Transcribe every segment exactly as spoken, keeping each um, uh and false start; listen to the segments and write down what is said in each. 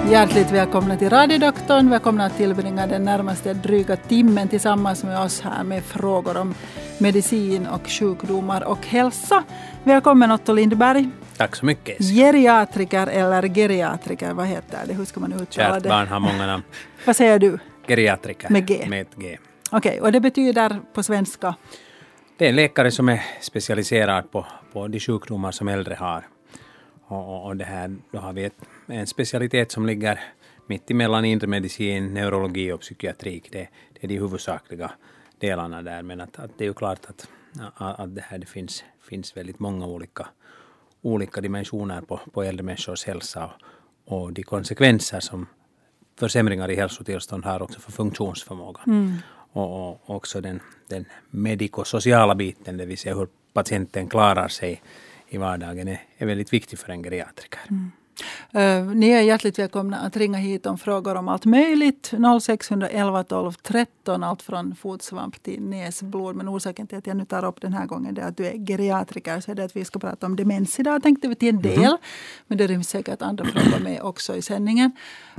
Hjärtligt välkomna till Radiodoktorn. Välkomna att tillbringa den närmaste dryga timmen tillsammans med oss här med frågor om medicin och sjukdomar och hälsa. Välkommen Otto Lindberg. Tack så mycket. Geriatriker eller geriatriker, vad heter det? Hur ska man uttala det? Kärt barn har många namn. Vad säger du? Geriatriker. Med G. Med ett G. Okej, okay, och det betyder på svenska? Det är en läkare som är specialiserad på, på de sjukdomar som äldre har. Och, och, och det här, då har vi ett, en specialitet som ligger mitt emellan inre medicin, neurologi och psykiatrik. Det, det är de huvudsakliga delarna där. Men att, att det är ju klart att, att det här det finns, finns väldigt många olika, olika dimensioner på, på äldre människors hälsa. Och, och de konsekvenser som försämringar i hälsotillstånd har också för funktionsförmåga. Mm. Och, och också den, den medikosociala biten, det vill säga hur patienten klarar sig i vardagen, är, är väldigt viktig för en geriatriker. Mm. Uh, ni är hjärtligt välkomna att ringa hit om frågor om allt möjligt. noll sex ett ett tolv tretton, allt från fotsvamp till näsblod. Men orsaken till att jag nu tar upp den här gången är att du är geriatriker, så är det att vi ska prata om demens idag, tänkte vi till en del. Mm. Men det ryms säkert andra frågor med också i sändningen.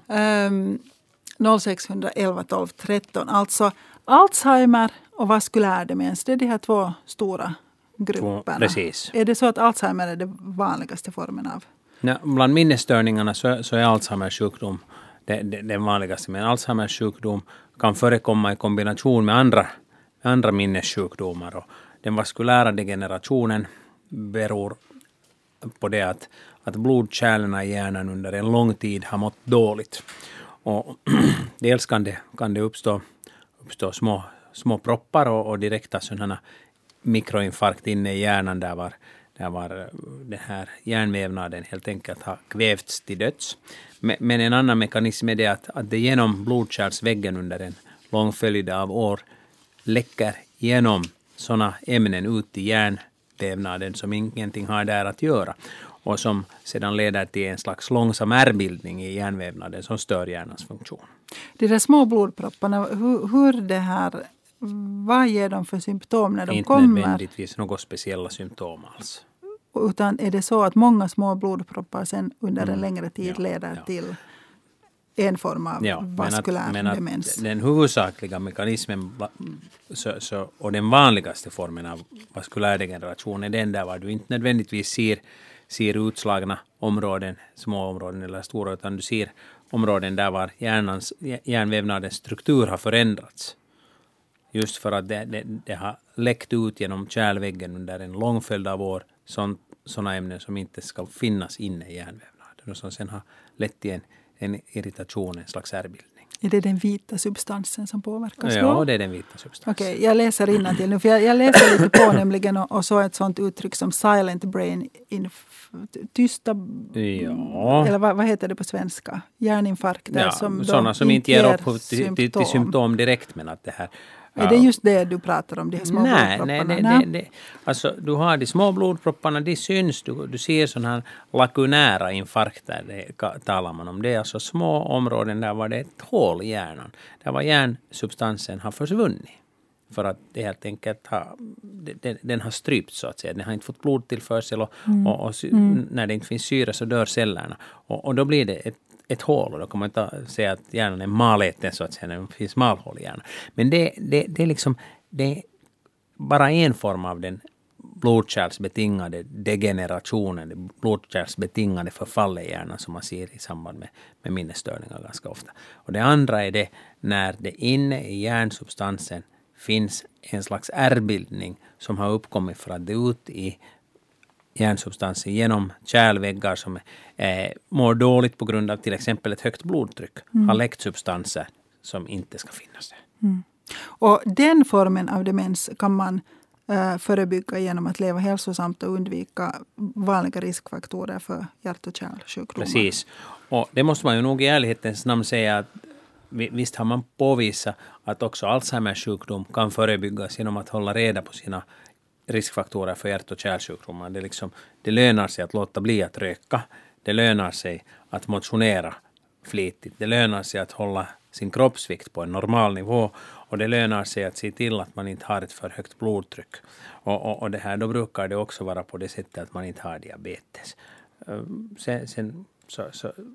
Um, noll sex ett ett tolv tretton, alltså Alzheimer och vaskulär demens, det är de här två stora grupperna. Precis. Är det så att Alzheimer är den vanligaste formen av? Ja, bland minnesstörningarna så, så är Alzheimers sjukdom det, det, den vanligaste. Men Alzheimers sjukdom kan förekomma i kombination med andra, andra minnessjukdomar. Och den vaskulära degenerationen beror på det att, att blodkärlen i hjärnan under en lång tid har mått dåligt. Och dels kan det, kan det uppstå, uppstå små, små proppar och, och direkta sådana mikroinfarkt inne i hjärnan där var, där var den här hjärnvävnaden helt enkelt har kvävts till döds. Men, men en annan mekanism är det att, att det genom blodkärlsväggen under en lång följd av år läcker genom sådana ämnen ut i hjärnvävnaden som ingenting har där att göra. Och som sedan leder till en slags långsam ärrbildning i hjärnvävnaden som stör hjärnans funktion. De där små blodpropparna, hur, hur det här, vad ger de för symptom när de Inte kommer? Inte nödvändigtvis några speciella symptom alls. Utan är det så att många små blodproppar sen under en mm. längre tid ja, leder ja. till en form av ja, vaskulär men att, demens? Men den huvudsakliga mekanismen så, så, och den vanligaste formen av vaskulär degeneration är den där var du inte nödvändigtvis ser ser utslagna områden, små områden eller stora, utan du ser områden där var hjärnans, hjärnvävnadens struktur har förändrats. Just för att det, det, det har läckt ut genom kärlväggen under en lång följd av år sådana ämnen som inte ska finnas inne i hjärnvävnaden och som sen har lett till en, en irritation, en slags ärrbildning. Är det den vita substansen som påverkas då? Ja, det är den vita substansen. Okej, okay, jag läser innantill nu, för jag, jag läser lite på nämligen och, och så ett sånt uttryck som silent brain, inf, tysta, ja. eller vad, vad heter det på svenska? Hjärninfarkter ja, som sådana som inte ger upphov till, till, till symptom direkt, men att det här... Är det just det du pratar om, de här små nej, blodpropparna? Nej, nej, nej. Alltså, du har de små blodpropparna, de syns. Du, du ser sådana här lakunära infarkter, det talar man om. Det är alltså små områden där var det ett hål i hjärnan. Där var hjärnsubstansen har försvunnit. För att det helt enkelt har, den, den har strypt så att säga. Den har inte fått blodtillförsel och, mm. och, och mm. när det inte finns syre så dör cellerna. Och, och då blir det ett ett hål, och då kan man inte säga att hjärnan är maläten så att säga, det finns malhål i hjärnan. Men det, det, det är liksom det är bara en form av den blodkärlsbetingade degenerationen, det blodkärlsbetingade förfallet i hjärnan som man ser i samband med, med minnesstörningar ganska ofta. Och det andra är det när det inne i hjärnsubstansen finns en slags ärrbildning som har uppkommit för att det ut i hjärnsubstansen genom kärlväggar som eh, mår dåligt på grund av till exempel ett högt blodtryck. Mm. Har läckt substanser som inte ska finnas där. Mm. Och den formen av demens kan man eh, förebygga genom att leva hälsosamt och undvika vanliga riskfaktorer för hjärt- och kärlsjukdomar. Precis. Och det måste man ju nog i ärlighetens namn säga att visst har man påvisat att också Alzheimers sjukdom kan förebyggas genom att hålla reda på sina riskfaktorer för hjärt- och kärlsjukdomar. Det, liksom, det lönar sig att låta bli att röka. Det lönar sig att motionera flitigt. Det lönar sig att hålla sin kroppsvikt på en normal nivå. Och det lönar sig att se till att man inte har ett för högt blodtryck. Och, och, och det här, då brukar det också vara på det sättet att man inte har diabetes. Sen, sen så, så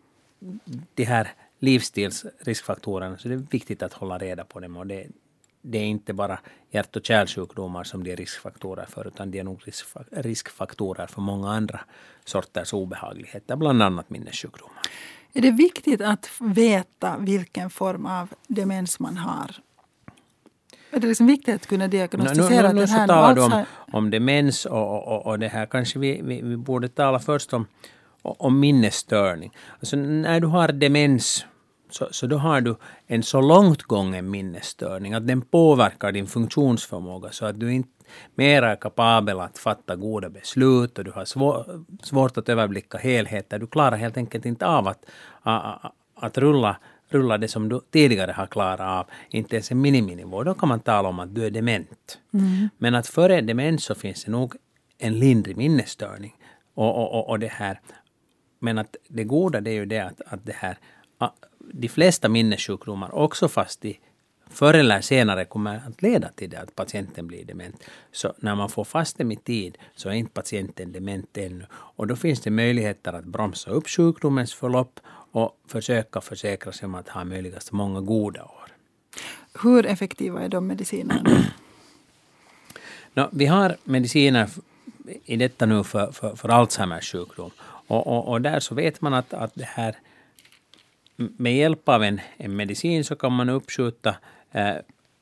de här livsstilsriskfaktorerna, så det är viktigt att hålla reda på dem. Och det, det är inte bara hjärt- och kärlsjukdomar som det är riskfaktorer för, utan det är nog riskfaktorer för många andra sorters obehagligheter, bland annat minnessjukdomar. Är det viktigt att veta vilken form av demens man har? Är det liksom viktigt att kunna diagnostisera nu, nu, nu, den här? Nu talar du om, Alzheimer... om demens och, och, och det här. Kanske vi, vi, vi borde tala först om, om minnesstörning. Alltså när du har demens så, så då har du en så långt gången minnesstörning att den påverkar din funktionsförmåga så att du inte mer är kapabel att fatta goda beslut och du har svår, svårt att överblicka helheter. Du klarar helt enkelt inte av att, att, att rulla rulla det som du tidigare har klarat av, inte ens en miniminivå. Då kan man tala om att du är dement. Mm. Men att före demens så finns det nog en lindrig minnesstörning. Och, och, och, och det här. Men att det goda det är ju det att, att det här, de flesta minnessjukdomar också fast de förr eller senare kommer att leda till det att patienten blir dement. Så när man får fast dem i tid så är inte patienten dement ännu. Och då finns det möjligheter att bromsa upp sjukdomens förlopp och försöka försäkra sig om att ha möjligast många goda år. Hur effektiva är de medicinerna? no, vi har mediciner i detta nu för, för, för Alzheimers sjukdom. Och, och, och där så vet man att, att det här med hjälp av en, en medicin så kan man uppskjuta eh,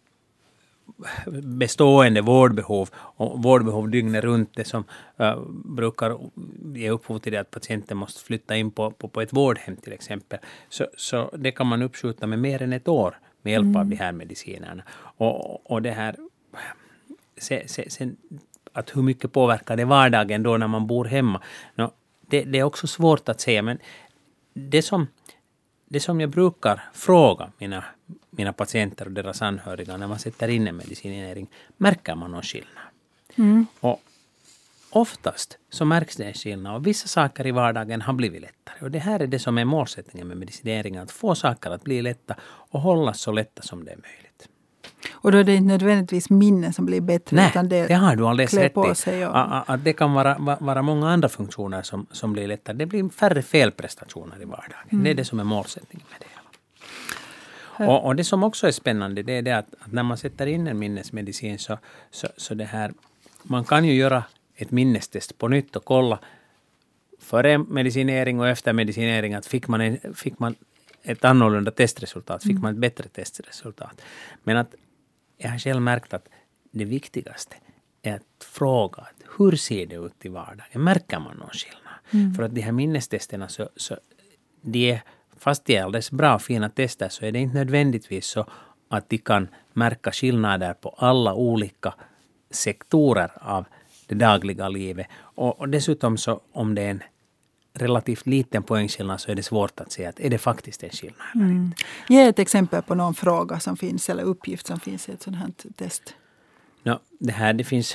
bestående vårdbehov och vårdbehov dygnet runt det som uh, brukar ge upphov till det att patienten måste flytta in på, på, på ett vårdhem till exempel. Så, så det kan man uppskjuta med mer än ett år med hjälp mm. av de här medicinerna. Och, och det här se, se, sen, att hur mycket påverkar det vardagen då när man bor hemma? No, det, det är också svårt att säga, men det som Det som jag brukar fråga mina, mina patienter och deras anhöriga när man sätter in en medicinering, märker man någon skillnad? Mm. Och oftast så märks det en skillnad och vissa saker i vardagen har blivit lättare. Och det här är det som är målsättningen med medicineringen, att få saker att bli lätta och hållas så lätta som det är möjligt. Och då är det inte nödvändigtvis minnen som blir bättre. Nej, utan det, det har du alldeles rätt i. Sig och... Att det kan vara, vara många andra funktioner som, som blir lättare. Det blir färre felprestationer i vardagen. Mm. Det är det som är målsättningen med det hela. Och, och det som också är spännande, det är det att, att när man sätter in en minnesmedicin så, så, så det här, man kan ju göra ett minnestest på nytt och kolla före medicinering och efter medicinering att fick man, en, fick man ett annorlunda testresultat, fick man ett bättre testresultat. Men att jag har själv märkt att det viktigaste är att fråga att hur ser det ut i vardagen? Märker man någon skillnad? Mm. För att de här minnestesterna, så, så de är, fast de är alldeles bra och fina tester, så är det inte nödvändigtvis så att de kan märka skillnader på alla olika sektorer av det dagliga livet. Och, och dessutom så om det är en relativt liten poängskillnad så är det svårt att säga att är det faktiskt en skillnad eller mm. inte. Ge ett exempel på någon fråga som finns eller uppgift som finns i ett sådant här test. No, det här det finns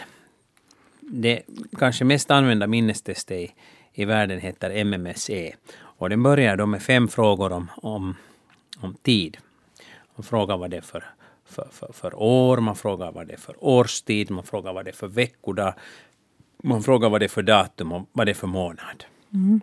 det kanske mest använda minnestestet i, i världen heter M M S E och den börjar då med fem frågor om, om, om tid. Man frågar vad det är för, för, för, för år, man frågar vad det är för årstid, man frågar vad det är för veckodag, man frågar vad det är för datum och vad det är för månad. Mm.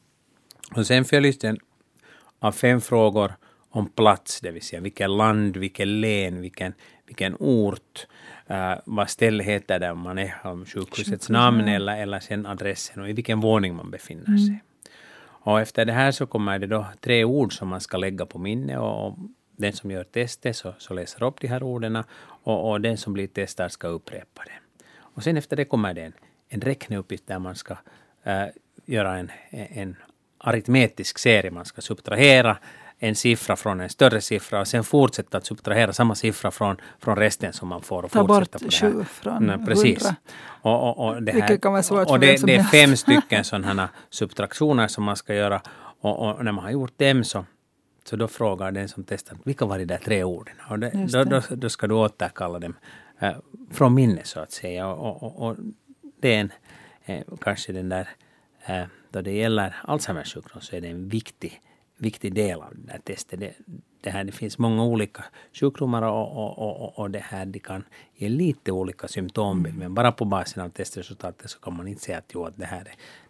Och sen följs den av fem frågor om plats, det vill säga vilken land, vilken län, vilken, vilken ort, uh, vad stället heter där man är, om sjukhusets namn eller, eller sen adressen och i vilken våning man befinner sig. Mm. Och efter det här så kommer det då tre ord som man ska lägga på minne och, och den som gör testet så, så läser upp de här orden och, och den som blir testad ska upprepa det. Och sen efter det kommer det en, en räkneuppgift där man ska uh, göra en, en aritmetisk serie. Man ska subtrahera en siffra från en större siffra och sen fortsätta att subtrahera samma siffra från, från resten som man får. Och ta bort på sju från Nej, precis. hundra. Och, och, och det, här, kan vara svårt och det, det är helst. fem stycken sådana subtraktioner som man ska göra. Och, och när man har gjort dem så, så då frågar den som testar vilka var de där tre orden. Och det, det. Då, då, då ska du återkalla dem äh, från minne så att säga. Och, och, och det är en, eh, kanske den där äh, då det gäller Alzheimers sjukdom så är det en viktig, viktig del av det här testet. Det, det, här, det finns många olika sjukdomar och, och, och, och det här de kan ge lite olika symptombild. Mm. Men bara på basen av testresultatet så kan man inte säga att, jo, att det, här är,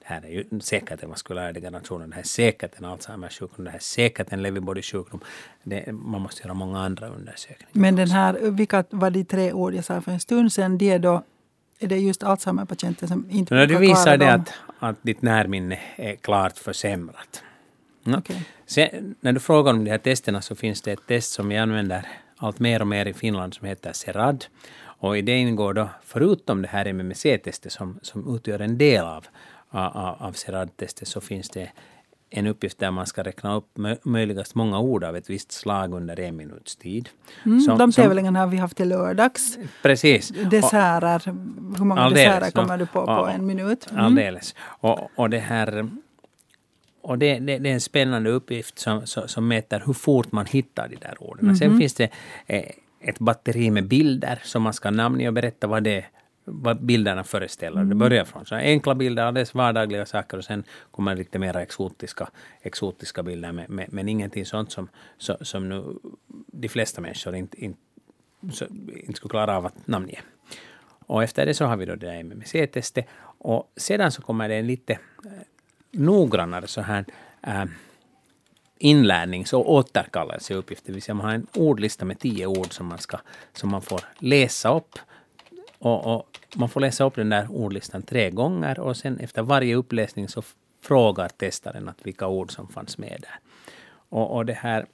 det här är ju säkert en vaskulär nationen, det här är säkert en Alzheimers sjukdom, det här är säkert en Lewy body sjukdom. Det, man måste göra många andra undersökningar. Men den här, vilka var de tre ord jag sa för en stund sedan, det är då, är det just Alzheimer-patienter som inte brukar klara dem? Du visar det dem? att, att ditt närminne är klart försämrat. Mm. Okay. Sen, när du frågar om de här testerna så finns det ett test som vi använder allt mer och mer i Finland som heter SERAD. Och i det ingår då, förutom det här M M C-testet som, som utgör en del av, av, av SERAD-testet, så finns det en uppgift där man ska räkna upp möjligast många ord av ett visst slag under en minuts tid. Mm, som, de tävlingarna har vi haft till lördags. Precis. Desserter, hur många alldeles, desserter kommer no, du på och, på en minut? Mm. Alldeles. Och, och det här... Och det, det, det är en spännande uppgift som, som, som mäter hur fort man hittar de där orden. Mm-hmm. Sen finns det eh, ett batteri med bilder som man ska namnge och berätta vad, det, vad bilderna föreställer. Mm. Det börjar från så enkla bilder, alldeles vardagliga saker, och sen kommer lite mer exotiska, exotiska bilder. Med, med, men ingenting sånt som, så, som nu de flesta människor inte, inte, så, inte skulle klara av att namnge. Och efter det så har vi då det där M M C-testet. Och sedan så kommer det en lite... noggrannare så här äh, inlärnings- och återkallelseuppgifter. Det vill säga man har en ordlista med tio ord som man, ska, som man får läsa upp. Och, och man får läsa upp den där ordlistan tre gånger, och sen efter varje uppläsning så frågar testaren att vilka ord som fanns med där. Och, och det här,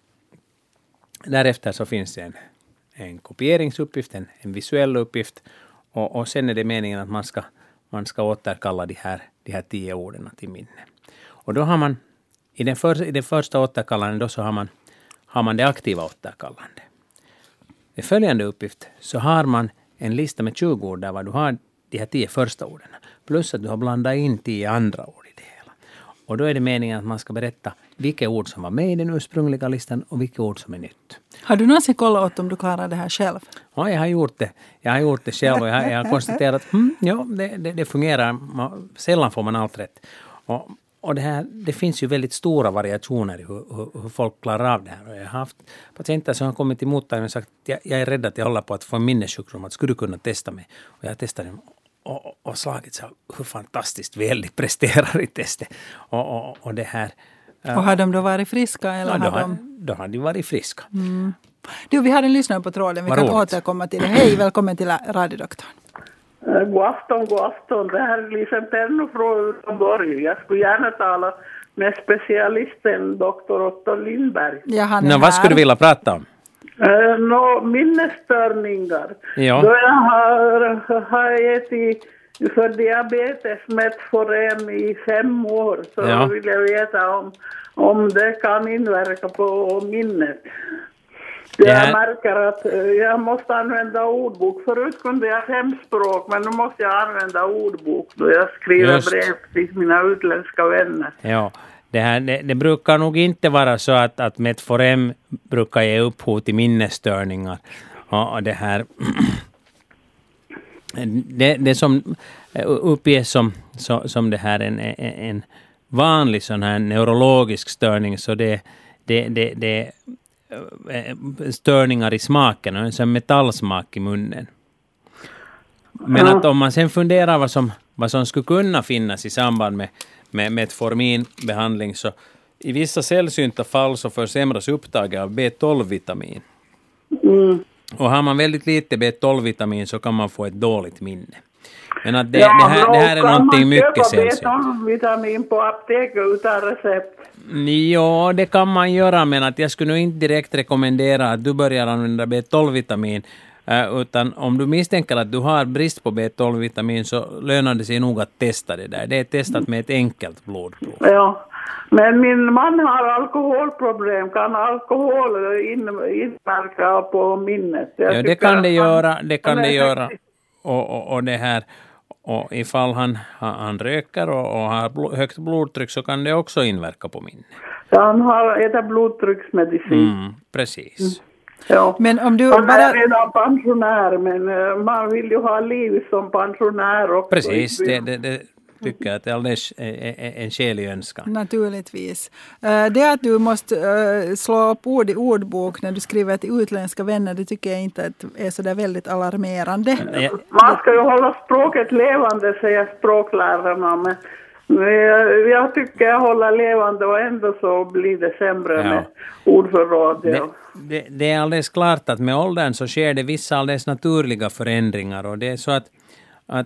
därefter så finns det en, en kopieringsuppgift, en, en visuell uppgift, och, och sen är det meningen att man ska Man ska återkalla de här, de här tio orden till minne. Och då har man, i den, för, i den första återkallanden då så har man, har man det aktiva återkallande. I följande uppgift så har man en lista med tjugo ord där du har de här tio första orden. Plus att du har blandat in tio andra ord i det hela. Och då är det meningen att man ska berätta vilka ord som var med i den ursprungliga listan och vilka ord som är nytt. Har du någonsin kollat åt om du klarar det här själv? Ja, jag har gjort det. Jag har gjort det själv och jag har, jag har konstaterat att hmm, ja, det, det, det fungerar. Man, sällan får man allt rätt. Och, och det, här, det finns ju väldigt stora variationer i hur, hur, hur folk klarar av det här. Och jag har haft patienter som har kommit till mottagningen och sagt att jag, jag är rädd att jag håller på att få en minnessjukdom. Att skulle du kunna testa mig? Och jag har testat dem och, och slagit så hur fantastiskt väl de presterar i testet. Och, och, och det här... Och har de då varit friska? Eller ja, då, har har, de... då har de varit friska. Mm. Du, vi har en lyssnare på tråden. Vi Var kan roligt. återkomma till det. Hej, välkommen till radiodoktorn. God afton, god afton. Det här är Lisen Perno från Göteborg. Jag skulle gärna tala med specialisten doktor Otto Lindberg. Ja, han är Nå, här. vad skulle du vilja prata om? Uh, Nå, minnesstörningar. Ja. Då jag har, har ätit för diabetes Metforem i fem år, så Ja. vill jag veta om, om det kan inverka på minnet. Det Jag här- märker att eh, jag måste använda ordbok. Förut kunde jag fem språk, men nu måste jag använda ordbok då jag skriver Just. brev till mina utländska vänner. Ja, det, här, det, det brukar nog inte vara så att, att Metforem brukar ge upphov till minnesstörningar. Och, och det här... Det, det som uppges som, som, som det här en, en, en vanlig sån här neurologisk störning, så det, det, det, det är störningar i smaken och en sån metallsmak i munnen. Men Ja. att om man sen funderar vad som, vad som skulle kunna finnas i samband med, med Metforminbehandling, så i vissa sällsynta fall så försämras upptaget av B tolv-vitamin. Mm. Och har man väldigt lite B tolv-vitamin så kan man få ett dåligt minne. Men att det, Ja, det, här, det här är någonting mycket sällsynt. sällsynt. Kan man köpa B tolv-vitamin på apoteket utan recept? Ja, det kan man göra, men att jag skulle nog inte direkt rekommendera att du börjar använda B tolv-vitamin. Uh, utan om du misstänker att du har brist på B tolv-vitamin så lönar det sig nog att testa det där. Det är testat med ett enkelt blodprov. Ja, men min man har alkoholproblem. Kan alkohol in, inverka på minnet? Jag Ja, det tycker kan att det han- göra. Det kan han är det göra. sextio. Och, och, och det här... Och ifall han, han, han röker och, och har bl- högt blodtryck så kan det också inverka på minnet. Ja, han har ätit blodtrycksmedicin. Mm, precis. Ja. Men om du Han är bara... redan pensionär, men eh, man vill ju ha liv som pensionär också. Precis, det, det, det tycker jag att det är alldeles en, en skälig önskan. Naturligtvis. Eh, Det att du måste eh, slå upp ord i ordbok när du skriver till utländska vänner, det tycker jag inte att är så där väldigt alarmerande. Ja, Man ska ju hålla språket levande, säger språklärarna, men Jag, jag tycker jag håller levande och ändå så blir det sämre Ja. med ordförråd. Det, det, det är alldeles klart att med åldern så sker det vissa alldeles naturliga förändringar, och det är så att, att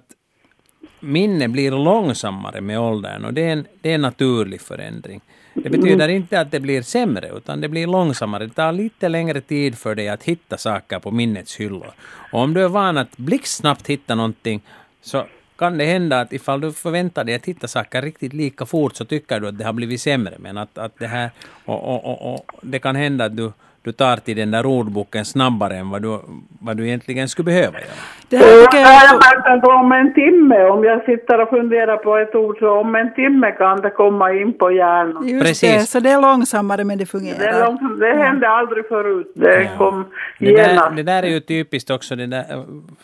minne blir långsammare med åldern, och det är en, det är en naturlig förändring. Det betyder inte att det blir sämre, utan det blir långsammare. Det tar lite längre tid för dig att hitta saker på minnets hyllor. Och om du är van att blixtsnabbt hitta någonting, så kan det hända att ifall du förväntar dig att hitta saker riktigt lika fort, så tycker du att det har blivit sämre. Men att, att det här, och, och, och, och det kan hända att du, du tar till den där ordboken snabbare än vad du, vad du egentligen skulle behöva göra. Det här tycker jag jag... har märkt att om en timme, om jag sitter och funderar på ett ord, så om en timme kan det komma in på hjärnan. Just Precis. det, så det är långsammare men det fungerar. Det, är långsamt, det hände aldrig förut. Det Ja. kom Det där, genast. det där är ju typiskt också. Det, där,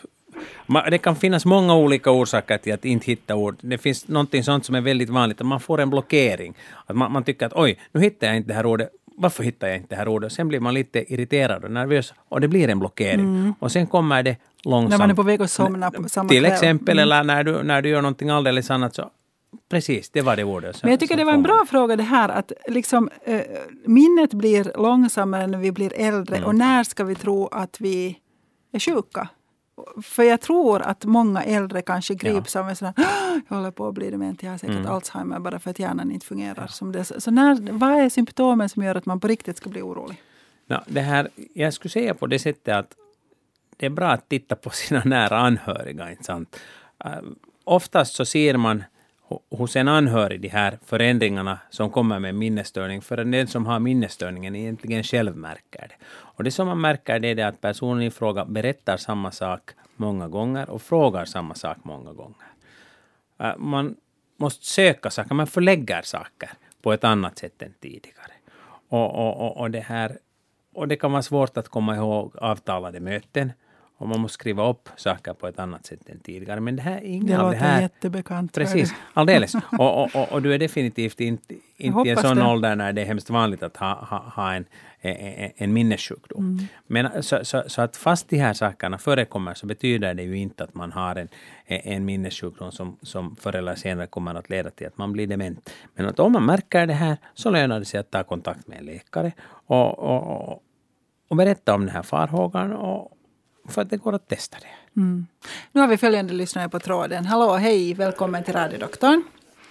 ma- det kan finnas många olika orsaker till att inte hitta ord. Det finns någonting sånt som är väldigt vanligt, att man får en blockering. Att man, man tycker att oj, nu hittar jag inte det här ordet. Varför hittar jag inte det här ordet? Sen blir man lite irriterad och nervös, och det blir en blockering. Mm. Och sen kommer det långsamt. När man är på väg att somna på samma Till kväll. exempel, Mm. eller när du, när du gör någonting alldeles annat, så precis, det var det ordet. Så, Men jag tycker det var en bra fråga det här, att liksom, eh, minnet blir långsammare när vi blir äldre. Mm. Och när ska vi tro att vi är sjuka? För jag tror att många äldre kanske grips av en sån här, jag håller på att bli dement, jag har säkert mm. Alzheimer bara för att hjärnan inte fungerar ja. som det. Så när, vad är symptomen som gör att man på riktigt ska bli orolig? No, det här, jag skulle säga på det sättet att det är bra att titta på sina nära anhöriga, inte sant? Uh, oftast så ser man hos en anhörig de här förändringarna som kommer med minnesstörning, för den som har minnesstörningen egentligen själv märker det. Och det som man märker det är det att personen i fråga berättar samma sak många gånger och frågar samma sak många gånger. Uh, man måste söka saker, man förlägger saker på ett annat sätt än tidigare. Och, och, och, och, det, här, och det kan vara svårt att komma ihåg avtalade möten. Och man måste skriva upp saker på ett annat sätt än tidigare. Men det här är inga det av det här. låter jättebekant. Precis, alldeles. Och, och, och, och du är definitivt inte, inte i en sån det. ålder när det är hemskt vanligt att ha, ha, ha en, en, en minnessjukdom. Mm. Men så, så, så att fast de här sakerna förekommer, så betyder det ju inte att man har en, en minnessjukdom som, som förr eller senare kommer att leda till att man blir dement. Men att om man märker det här, så lönar det sig att ta kontakt med en läkare och, och, och, och berätta om den här farhågan, och för att det går att testa det. Mm. Nu har vi följande lyssnare på tråden. Hallå, hej, välkommen till radiodoktorn.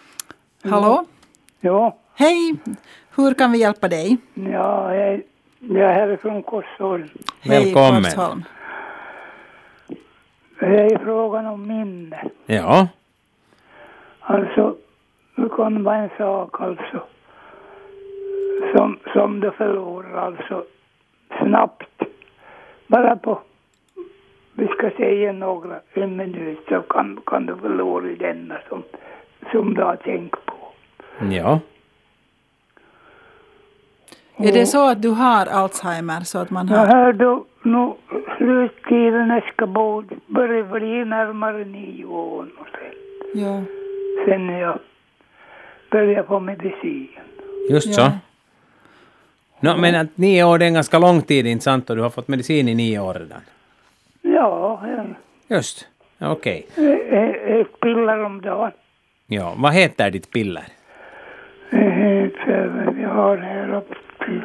Hallå? Ja. Hej, hur kan vi hjälpa dig? Ja, jag, jag är härifrån Korsholm. Välkommen. Hej, Korsholm. Det är frågan om minne. Ja. Alltså, det kan vara en sak alltså som, som du förlorar alltså snabbt. Bara på, vi ska säga några, en minut, så kan, kan du förlora denna som, som du har tänkt på. Ja. Och, är det så att du har Alzheimer så att man har... Jag hörde nu sluttiden ska börja bli närmare nio år och sen. Ja. Sen jag började på medicin. Just ja. så. No, men att nio år är en ganska lång tid, inte sant? Och du har fått medicin i nio år redan. Ja, ja. Just, okej. Okay. Ett piller om dagen. Ja, vad heter ditt piller? Det heter, vi har här upp till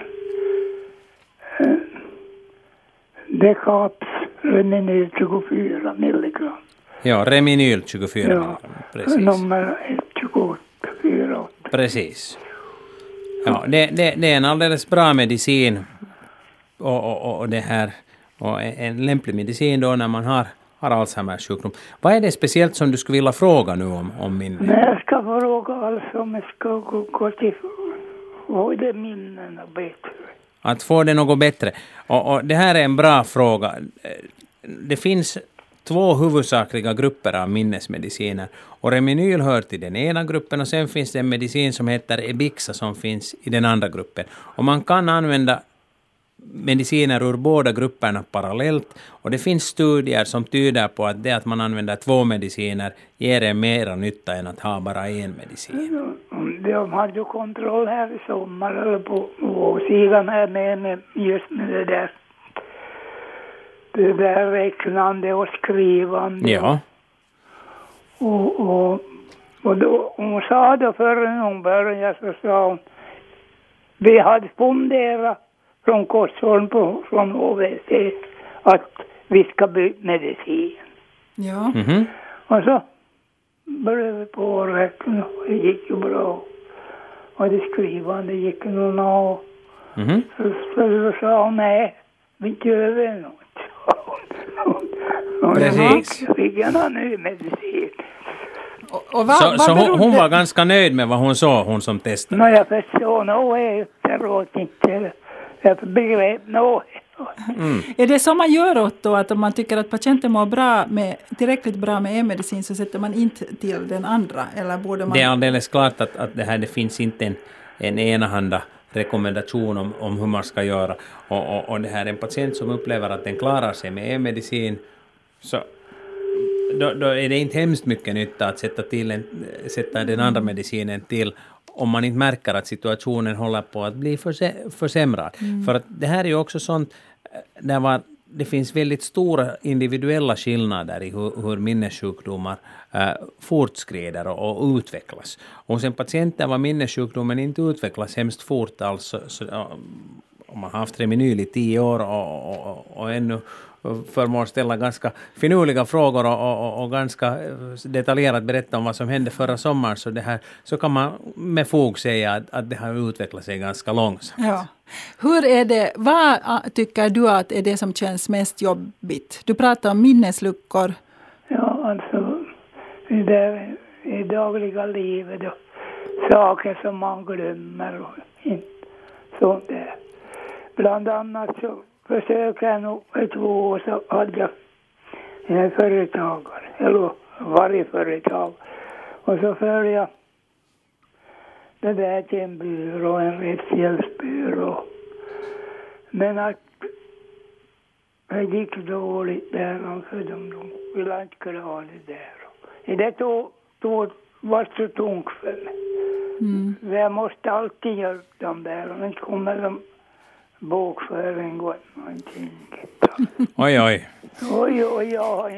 Decaps Reminyl tjugofyra milligram. Ja, Reminyl tjugofyra ja. milligram, precis. Nummer tjugofyra. Precis. Ja, det, det, det är en alldeles bra medicin och, och, och det här och en lämplig medicin då när man har, har Alzheimers sjukdom. Vad är det speciellt som du skulle vilja fråga nu om, om minne? Nej, jag ska fråga alltså om jag ska gå, gå till vad är minnena bättre. Att få det något bättre. Och, och det här är en bra fråga. Det finns två huvudsakliga grupper av minnesmediciner. Och Reminyl hör till den ena gruppen, och sen finns det en medicin som heter Ebixa som finns i den andra gruppen. Och man kan använda mediciner ur båda grupperna parallellt. Och det finns studier som tyder på att det att man använder två mediciner ger en mera nytta än att ha bara en medicin. De har ju kontroll här i sommar eller på, på sidan här med, med just med det där det där räknande och skrivande. Ja. Och, och, Och då, hon sa då förrän hon började så sa hon, vi hade funderat från Korsholm på, från H V C att vi ska byta medicin. Ja. Mhm. Och så började vi på att räkna och det gick ju bra. Och det skrivande gick ju någon av. Mhm. Så, så, så sa hon, nej, vi gör väl något. Och Precis. jag fick en ny medicin. Och, och vad, Så, vad så hon, berodde- hon var ganska nöjd med vad hon sa, hon som testade. Men jag förstår nog efteråt inte. Jag begrep nog. Är det som man gör åt då, att om man tycker att patienten mår bra med, tillräckligt bra med en medicin så sätter man inte till den andra? Eller borde man... Det är alldeles klart att, att det här det finns inte en, en enahanda rekommendation om, om hur man ska göra. Och, och, och det här är en patient som upplever att den klarar sig med en medicin, så då, då är det inte hemskt mycket nytta att sätta, till en, sätta den andra medicinen till om man inte märker att situationen håller på att bli förse, försämrad. Mm. För att det här är ju också sånt där var, det finns väldigt stora individuella skillnader i hur, hur minnessjukdomar äh, fortskrider och, och utvecklas. Och hos en patient där var minnessjukdomen inte utvecklas hemskt fort, alltså, så, ja, om man har haft Reminyl i tio år och, och, och, och ännu förmår ställa ganska finurliga frågor och, och, och ganska detaljerat berätta om vad som hände förra sommaren, så, det här, så kan man med fog säga att, att det har utvecklat sig ganska långsamt. Ja. Hur är det, vad tycker du att är det som känns mest jobbigt? Du pratar om minnesluckor. Ja, alltså i det i dagliga livet och saker som man glömmer och inte sånt där. Bland annat så försöker jag nog för två år så hade jag en företagare, eller varje företag. Och så följde jag det där till en byrå, en rättshjälpsbyrå. Men att det gick dåligt där, för de, de ville inte kunna ha det där. Det tog, tog, var så tungt för mig. Mm. Jag måste alltid hjälpa dem där, och inte kommer de bokföring och någonting. Oj, oj. Oj, oj, jag har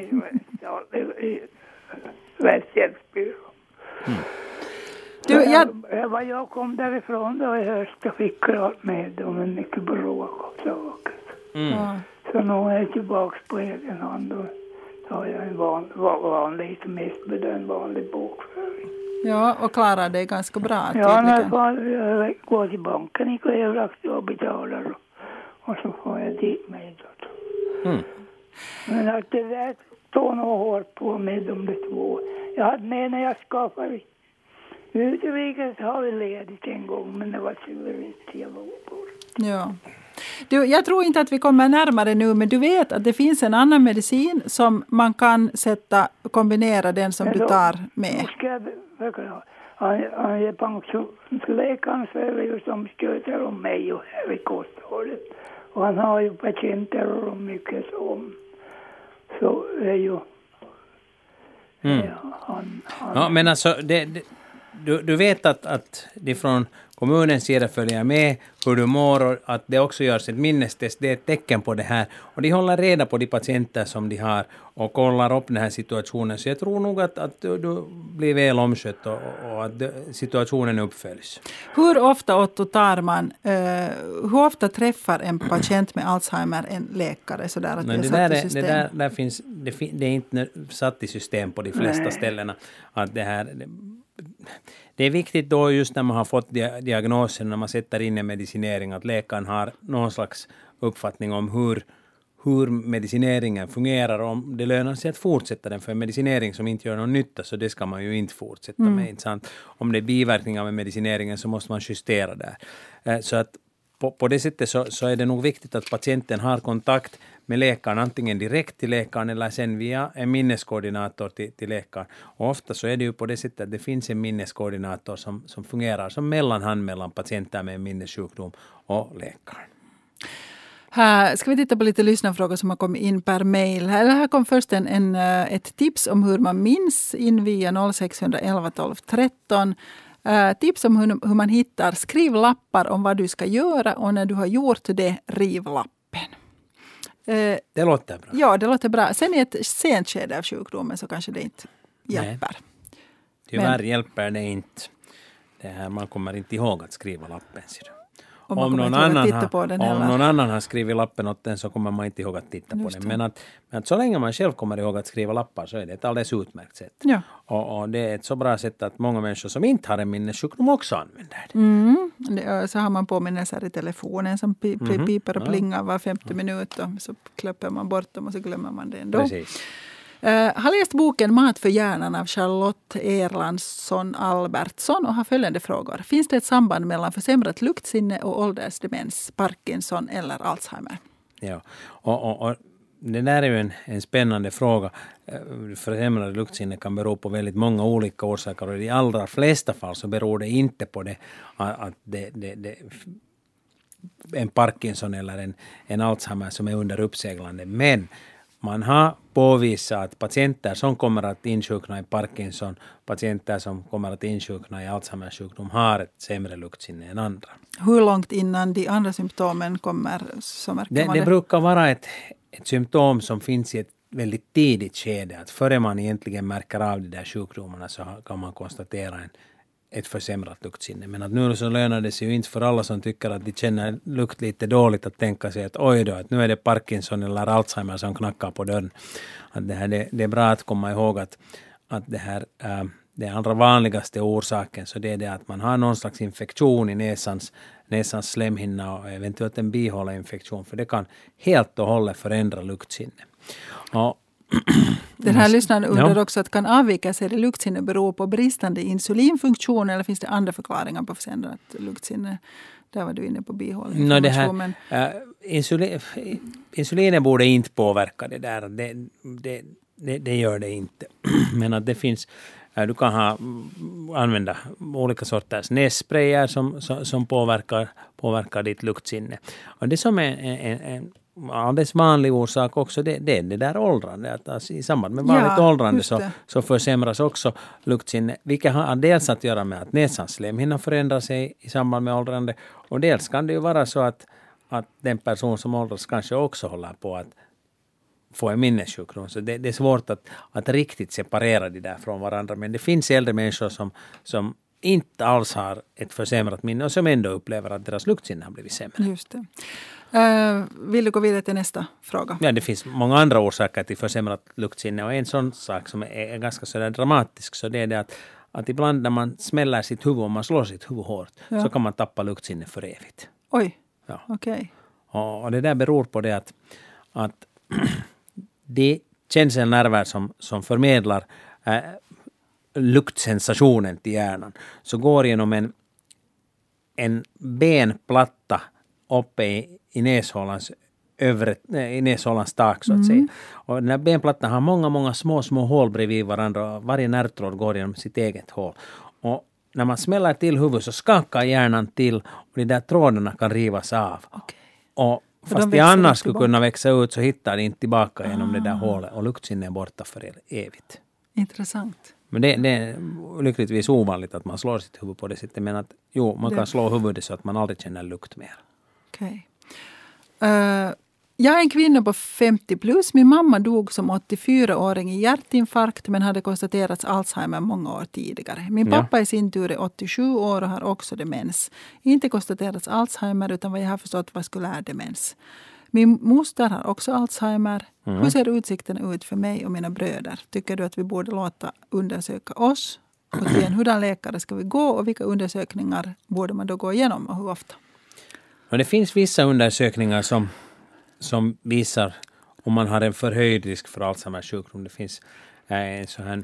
i rättshjälpsbyrå. Mm. Du, jag... Jag, jag, jag kom därifrån då i höst och fick klart med dem en mycket bråk och saker. Mm. Ja. Så nu är jag tillbaka på egen hand och tar jag en van, vanlig, mest bedömd vanlig bokföring. Ja, och klarar det ganska bra. Ja, när jag går till banken i Klevlax och betalar och, och så får jag dit mig då. Mm. Men att det där tog nog hårt på med de två. Jag hade med när jag skapade Utrikes har vi ledigt en gång, men det var suveränt jag var bort. Ja. Du, jag tror inte att vi kommer närmare nu, men du vet att det finns en annan medicin som man kan sätta, kombinera den som men du tar med. Ska jag förklara. Han, han är pensionsläkaren som sköter om mig och här i kosthållet. Och han har ju patienter och mycket som. Så är ju... Mm. Ja, han, han, ja, men alltså... Det, det... Du, du vet att, att de från kommunens sida följer med hur du mår och att det också görs ett minnestest. Det är ett tecken på det här. Och de håller reda på de patienter som de har och kollar upp den här situationen. Så jag tror nog att, att du, du blir väl omskött och, och att situationen uppföljs. Hur ofta, Otto, tar man, uh, hur ofta träffar en patient med Alzheimer en läkare? Så där att Men det, det, där är, det, där, där finns, det, det är inte satt i system på de flesta Nej. ställena. Att det här... Det, Det är viktigt då just när man har fått diagnosen, när man sätter in en medicinering, att läkaren har någon slags uppfattning om hur, hur medicineringen fungerar och om det lönar sig att fortsätta den. För en medicinering som inte gör någon nytta, så det ska man ju inte fortsätta mm. med. Inte sant? Om det är biverkningar med medicineringen så måste man justera där. Så att på, på det sättet så, så är det nog viktigt att patienten har kontakt med läkaren, antingen direkt till läkaren eller sen via en minneskoordinator till, till läkaren. Och ofta så är det ju på det sättet att det finns en minneskoordinator som, som fungerar som mellanhand mellan patienter med en minnessjukdom och läkaren. Här ska vi titta på lite lyssnarfrågor som har kommit in per mejl. Här, här kom först en, en, ett tips om hur man minns in via noll sex ett ett tolv tretton. Uh, tips om hur, hur man hittar. Skriv lappar om vad du ska göra och när du har gjort det, riv lappen. Uh, det låter bra. Ja, det låter bra. Sen i ett sent skede av sjukdomen så kanske det inte hjälper. Tyvärr Men, hjälper det inte. Det här, man kommer inte ihåg att skriva lappen. Om, om, någon annan, har, om någon annan har skrivit lappen åt den så kommer man inte ihåg att titta Just på den. Men att, men att så länge man själv kommer ihåg att skriva lappar så är det ett alldeles utmärkt sätt. Ja. Och, och det är ett så bra sätt att många människor som inte har en minnessjukdom också använder det. Mm. det så har man påminnelser i telefonen som pi, pi, Mm-hmm. piper och Ja. plingar var femtio minut och så klipper man bort dem och så glömmer man det ändå. Precis. Uh, har läst boken Mat för hjärnan av Charlotte Erlandsson Albertsson och har följande frågor. Finns det ett samband mellan försämrat luktsinne och åldersdemens, Parkinson eller Alzheimer? Ja, och, och, och det där är ju en, en spännande fråga. Försämrad luktsinne kan bero på väldigt många olika orsaker och i de allra flesta fall så beror det inte på det att det, det, det en Parkinson eller en, en Alzheimer som är under uppseglande. Men man har påvisat att patienter som kommer att insjukna i Parkinson, patienter som kommer att insjukna i Alzheimers sjukdom har ett sämre luktsinne än andra. Hur långt innan de andra symptomen kommer så märker det, man det? det? Det brukar vara ett, ett symptom som finns i ett väldigt tidigt skede. Att före man egentligen märker av de där sjukdomarna så kan man konstatera en, ett försämrat luktsinne. Men att nu så lönar det sig ju inte för alla som tycker att de känner lukt lite dåligt att tänka sig att oj då, att nu är det Parkinson eller Alzheimer som knackar på dörren. Att det, här, det, det är bra att komma ihåg att, att det här äh, det allra vanligaste orsaken så det är det att man har någon slags infektion i näsans, näsans slemhinna och eventuellt en bihåleinfektion för det kan helt och hållet förändra luktsinne. Och Den här lyssnaren undrar ja. också att kan avvikelser i luktsinne bero på bristande insulinfunktion eller finns det andra förklaringar på försämrat luktsinne? Där var du inne på bihåleinflammation. No, det här, men... äh, insulin, insulinet borde inte påverka det där. Det, det, det, det gör det inte. Men att det finns, äh, du kan ha, använda olika sorters nässprayer som, som, som påverkar, påverkar ditt luktsinne. Och det som är en, en, en alldeles vanlig orsak också, det, det är det där åldrande. Att alltså, i samband med vanligt ja, åldrande så, så försämras också luktsinne. Vilket har dels att göra med att näsans slemhinna förändrar sig i samband med åldrande. Och dels kan det ju vara så att, att den person som åldras kanske också håller på att få en minnessjukdom. Så det, det är svårt att, att riktigt separera det där från varandra. Men det finns äldre människor som, som inte alls har ett försämrat minne och som ändå upplever att deras luktsinne har blivit sämre. Just det. Uh, vill du gå vidare till nästa fråga? Ja, det finns många andra orsaker till försämrat luktsinne och en sån sak som är, är ganska sådär dramatisk så det är det att, att ibland när man smäller sitt huvud och man slår sitt huvud hårt ja. Så kan man tappa luktsinne för evigt. Oj, ja. okej. Okay. Och, och det där beror på det att, att de känselnerver som, som förmedlar äh, luktsensationen till hjärnan så går genom en, en benplatta uppe i, i näshålans övre, i näshålans tak så att mm. säga. Och den här benplattan har många, många små, små hål bredvid varandra och varje nervtråd går genom sitt eget hål. Och när man smäller till huvudet så skakar hjärnan till och de där trådarna kan rivas av. Okay. Och fast de annars skulle kunna växa ut så hittar de inte tillbaka ah. genom det där hålet och luktsinne är borta för evigt. Intressant. Men det, det är lyckligtvis ovanligt att man slår sitt huvud på det sättet. Men att jo, man det. kan slå huvudet så att man aldrig känner lukt mer. Okej. Okay. Uh, jag är en kvinna på femtio plus. Min mamma dog som åttiofyraåring i hjärtinfarkt men hade konstaterats Alzheimer många år tidigare. Min pappa ja. i sin tur är åttiosju år och har också demens. Inte konstaterats Alzheimer utan vad jag har förstått vaskulär demens. Min moster har också Alzheimer. Mm. Hur ser utsikten ut för mig och mina bröder? Tycker du att vi borde låta undersöka oss? Och till en hurdan läkare ska vi gå och vilka undersökningar borde man då gå igenom och hur ofta? Och det finns vissa undersökningar som, som visar om man har en förhöjd risk för Alzheimers sjukdom. Det finns en sån här,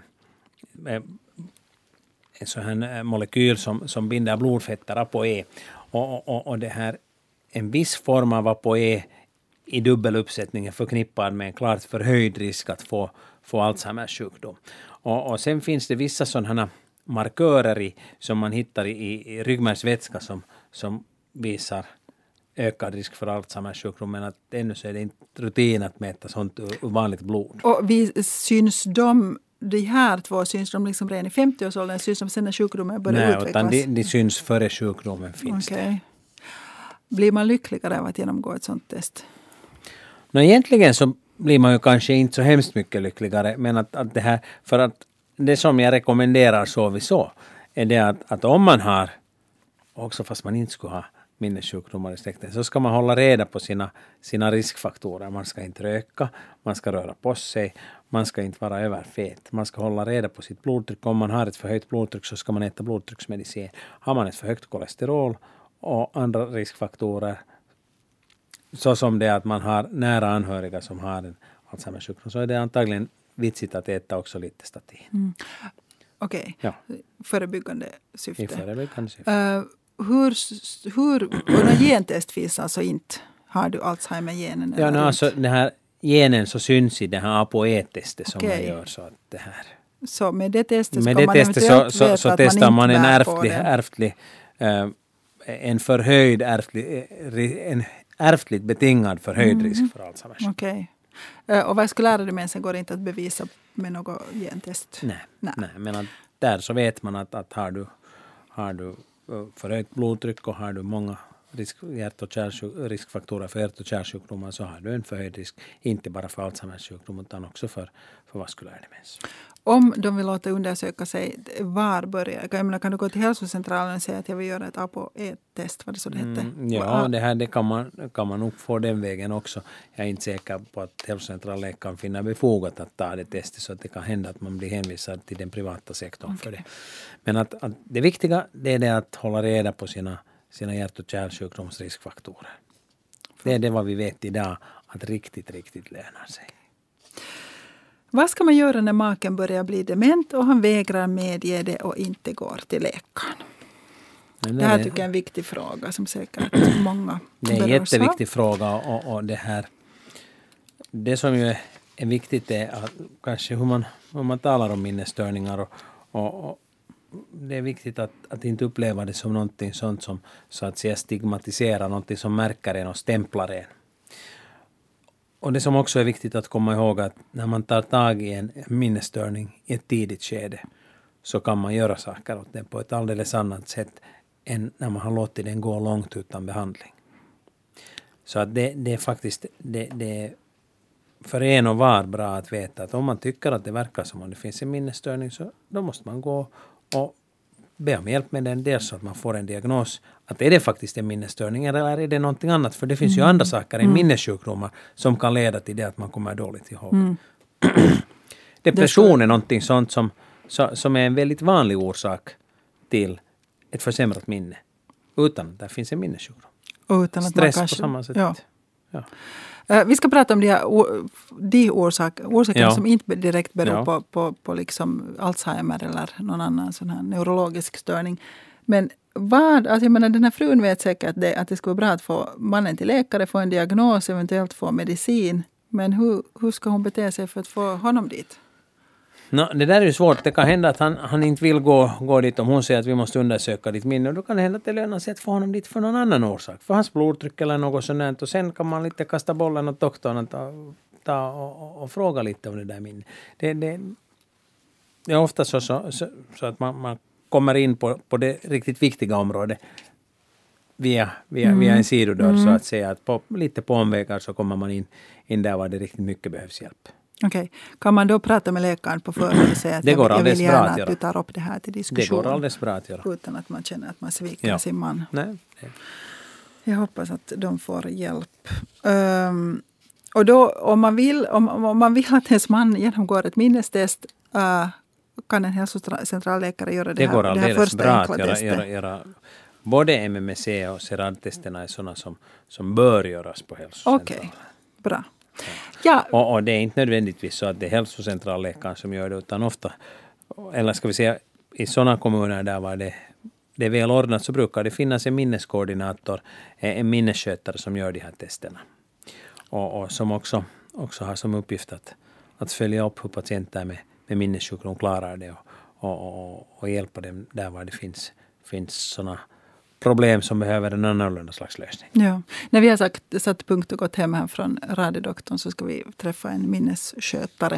en sån här molekyl som, som binder blodfetter, ApoE. Och, och, och det här, en viss form av ApoE i dubbel uppsättning är förknippad med en klart förhöjd risk att få, få Alzheimers sjukdom. Och, och sen finns det vissa sådana markörer i, som man hittar i, i ryggmärgsvätska som, som visar ökad risk för Alzheimers sjukdom, men att ännu så är det inte rutin att mäta sånt ur vanligt blod. Och vi syns de, de här två syns de liksom redan i femtio-årsåldern, syns de sen när sjukdomen börjar Nej, utvecklas? Nej, utan de, de syns före sjukdomen finns. Okej. Okay. Blir man lyckligare av att genomgå ett sånt test? No, egentligen så blir man ju kanske inte så hemskt mycket lyckligare, men att, att det här, för att det som jag rekommenderar så vi så är det att, att om man har, också fast man inte skulle ha minnessjukdomar i släkten, så ska man hålla reda på sina, sina riskfaktorer. Man ska inte röka, man ska röra på sig, man ska inte vara överfet. Man ska hålla reda på sitt blodtryck. Om man har ett för högt blodtryck så ska man äta blodtrycksmedicin. Har man ett för högt kolesterol och andra riskfaktorer, så som det är att man har nära anhöriga som har en Alzheimers sjukdom, så är det antagligen vitsigt att äta också lite statin. Mm. Okej, okay. ja. Förebyggande syfte. I förebyggande syfte. Uh, hur, hur, och när gentest finns alltså inte, har du Alzheimer-genen? Ja, no, alltså den här genen så syns i det här ApoE-testet som okay. man gör. Så, att det här. så med det testet med ska det man testet eventuellt så, så, så testar man, man en ärftlig, ärftlig uh, en förhöjd ärftlig, en ärftligt betingad förhöjd mm. risk för Alzheimers. Okej. Okay. Uh, och vad skulle lära dig med sen går det inte att bevisa med något gentest? Nej, nej. nej men att där så vet man att, att har du, har du förhöjt blodtryck och har du många risk, hjärt- och kärlsjuk, riskfaktorer för hjärt- och kärlsjukdomar, så har du en förhöjd risk, inte bara för Alzheimers sjukdom utan också för, för vaskulär demens. Om de vill låta undersöka sig, var börjar jag menar, kan du gå till hälsocentralen och säga att jag vill göra ett ApoE-test, vad det så det hette? Mm, ja, det här det kan man, kan man nog få den vägen också. Jag är inte säker på att hälsocentralläkaren finner befogat att ta det testet, så att det kan hända att man blir hänvisad till den privata sektorn okay. för det. Men att, att det viktiga det är det att hålla reda på sina, sina hjärt- och kärlsjukdomsriskfaktorer. Det är det vad vi vet idag, att riktigt, riktigt lönar sig. Vad ska man göra när maken börjar bli dement och han vägrar medge det och inte går till läkaren? Det, det här tycker jag är en viktig fråga som säkert många Det är en jätteviktig fråga och, och det här, det som ju är, är viktigt är att kanske hur man, hur man talar om minnesstörningar och, och, och det är viktigt att, att inte uppleva det som någonting sånt som så att säga stigmatiserar, någonting som märker en och stämplar en. Och det som också är viktigt att komma ihåg att när man tar tag i en minnesstörning i ett tidigt skede så kan man göra saker åt den på ett alldeles annat sätt än när man har låtit den gå långt utan behandling. Så att det, det är faktiskt det, det är för en och var bra att veta att om man tycker att det verkar som om det finns en minnesstörning, så då måste man gå och be om hjälp med den, dels så att man får en diagnos att är det faktiskt en minnesstörning eller är det någonting annat, för det finns mm. ju andra saker än mm. minnessjukdomar som kan leda till det att man kommer dåligt ihåg. Mm. Depression är någonting sånt som, som är en väldigt vanlig orsak till ett försämrat minne utan att det finns en minnessjukdom. Utan att stress man kanske, på samma sätt. Ja. Ja. Uh, vi ska prata om de, här, de orsak, orsakerna ja. som inte direkt beror ja. på, på, på liksom Alzheimer eller någon annan sån här neurologisk störning. Men vad, alltså jag menar, den här frun vet säkert att det, att det skulle vara bra att få mannen till läkare, få en diagnos, eventuellt få medicin. Men hur, hur ska hon bete sig för att få honom dit? No, det där är ju svårt. Det kan hända att han, han inte vill gå, gå dit om hon säger att vi måste undersöka ditt minne. Och då kan det hända att det lönar sig att få honom dit för någon annan orsak. För hans blodtryck eller något sånt. Och sen kan man lite kasta bollen åt doktorn och, ta, ta och, och, och fråga lite om det där minnet. Det, det, det är ofta så, så, så, så att man, man kommer in på, på det riktigt viktiga området via, via, mm. via en sidodörr mm. så att säga. Att på, lite på omvägar så kommer man in, in där var det riktigt mycket behövs hjälp. Okej. Okay. Kan man då prata med läkaren på förhand och säga att jag, jag vill gärna att, att du tar upp det här till diskussion? Det går alldeles bra att göra. Utan att man känner att man sviker ja. sin man. Nej. Jag hoppas att de får hjälp. Um, och då om man, vill, om, om man vill att ens man genomgår ett minnestest uh, kan en hälsocentralläkare göra det, det här, går det här första bra enkla att göra, testet. Göra, göra, både M M C och SERAD-testerna är sådana som, som bör göras på hälsocentralen. Okej, okay. Bra. Ja. Och, och det är inte nödvändigtvis så att det är hälsocentralläkaren som gör det, utan ofta, eller ska vi säga i sådana kommuner där var det, det är väl ordnat, så brukar det finnas en minneskoordinator, en minnesskötare som gör de här testerna. Och, och som också, också har som uppgift att, att följa upp hur patienter med, med minnessjukdom klarar det och, och, och, och hjälpa dem där var det finns, finns sådana problem som behöver en annorlunda slags lösning. Ja. När vi har sagt, satt punkt och gått hem här från radiodoktorn så ska vi träffa en minnesskötare.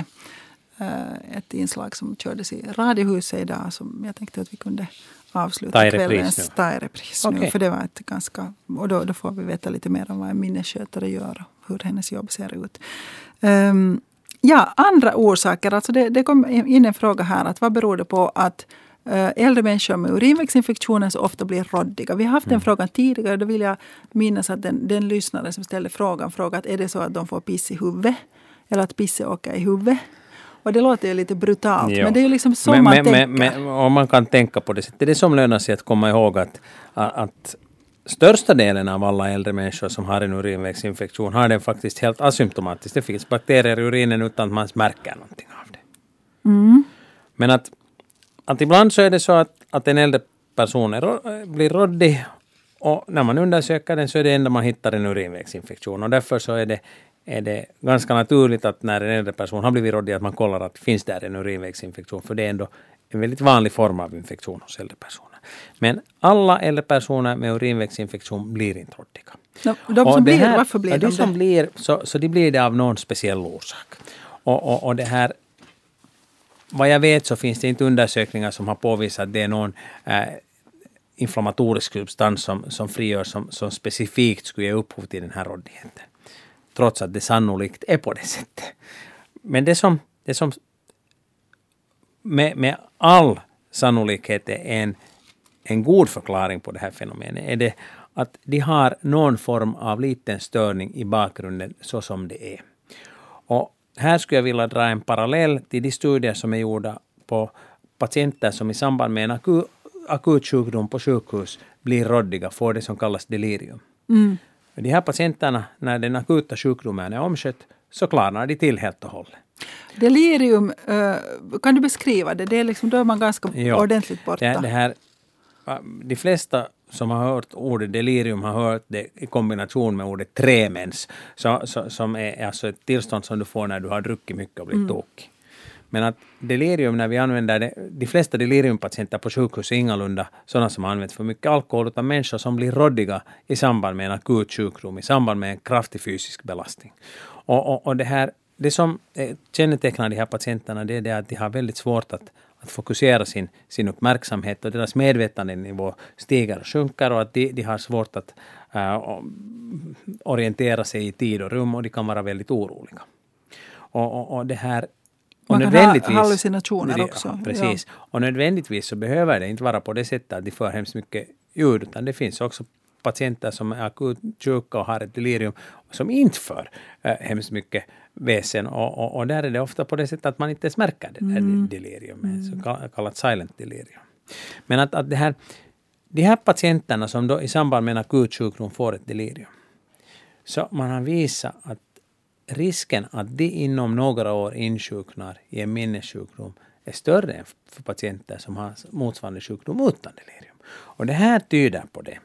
Uh, ett inslag som kördes i Radiohuset idag som jag tänkte att vi kunde avsluta ta kvällens ta i repris nu. Okay. För det var ett ganska, och då, då får vi veta lite mer om vad en minnesskötare gör och hur hennes jobb ser ut. Um, Ja, andra orsaker. Alltså det, det kom in en fråga här. Att vad beror det på att äh, äldre människor med urinvägsinfektioner så ofta blir råddiga? Vi har haft mm. en fråga tidigare. Då vill jag minnas att den, den lyssnare som ställde frågan frågat är det så att de får piss i huvudet? Eller att pisset åker i huvudet? Och det låter ju lite brutalt. Jo. Men det är ju liksom så men, man men, tänker. Men, men, om man kan tänka på det sättet. Det är det som lönar sig att komma ihåg att, att största delen av alla äldre människor som har en urinvägsinfektion har den faktiskt helt asymptomatiskt. Det finns bakterier i urinen utan att man märker någonting av det. Mm. Men att, att ibland så är det så att, att en äldre person är, blir råddig och när man undersöker den så är det enda man hittar en urinvägsinfektion. Och därför så är det, är det ganska naturligt att när en äldre person har blivit råddig att man kollar att finns där en urinvägsinfektion. För det är ändå en väldigt vanlig form av infektion hos äldre personer. Men alla äldre personer med urinvägsinfektion blir inte råddiga. De, de som blir, här, varför blir ja, de det? det? Som blir, så, så de blir det av någon speciell orsak. Och, och, och det här, vad jag vet så finns det inte undersökningar som har påvisat att det är någon äh, inflammatorisk substans som, som frigörs som, som specifikt skulle ge upphov till den här råddigheten. Trots att det sannolikt är på det sättet. Men det som, det som med, med all sannolikhet är en, en god förklaring på det här fenomenet är det att de har någon form av liten störning i bakgrunden så som det är. Och här skulle jag vilja dra en parallell till de studier som är gjorda på patienter som i samband med en akut, akut sjukdom på sjukhus blir råddiga, får det som kallas delirium. Mm. De här patienterna, när den akuta sjukdomen är omskött, så klarar de till helt och hållet. Delirium, kan du beskriva det? Det är liksom, då är man ganska jo, ordentligt borta. Det, det här, de flesta som har hört ordet delirium har hört det i kombination med ordet tremens, så, så, som är alltså ett tillstånd som du får när du har druckit mycket och blivit mm. tokig. Men att delirium, när vi använder det, de flesta deliriumpatienter på sjukhus är ingalunda sådana som har använt för mycket alkohol, utan människor som blir råddiga i samband med en akut sjukdom, i samband med en kraftig fysisk belastning. Och, och, och det här, det som kännetecknar de här patienterna, det är det att de har väldigt svårt att, att fokusera sin, sin uppmärksamhet, och deras medvetandenivå stiger och sjunker, och att de, de har svårt att uh, orientera sig i tid och rum, och de kan vara väldigt oroliga. Och, och, och det här Man kan ha hallucinationer också. Ja, precis. Ja. Och nödvändigtvis så behöver det inte vara på det sättet att de får hemskt mycket ljud, utan det finns också patienter som är akut sjuka och har ett delirium som inte för äh, hemskt mycket väsen. Och, och, och där är det ofta på det sättet att man inte ens märker det där mm. delirium, mm. så kallat silent delirium. Men att, att det här, de här patienterna som då i samband med en akut sjukdom får ett delirium, så man har visat att risken att de inom några år insjuknar i en minnessjukdom är större än för patienter som har motsvarande sjukdom utan delirium. Och det här tyder på det.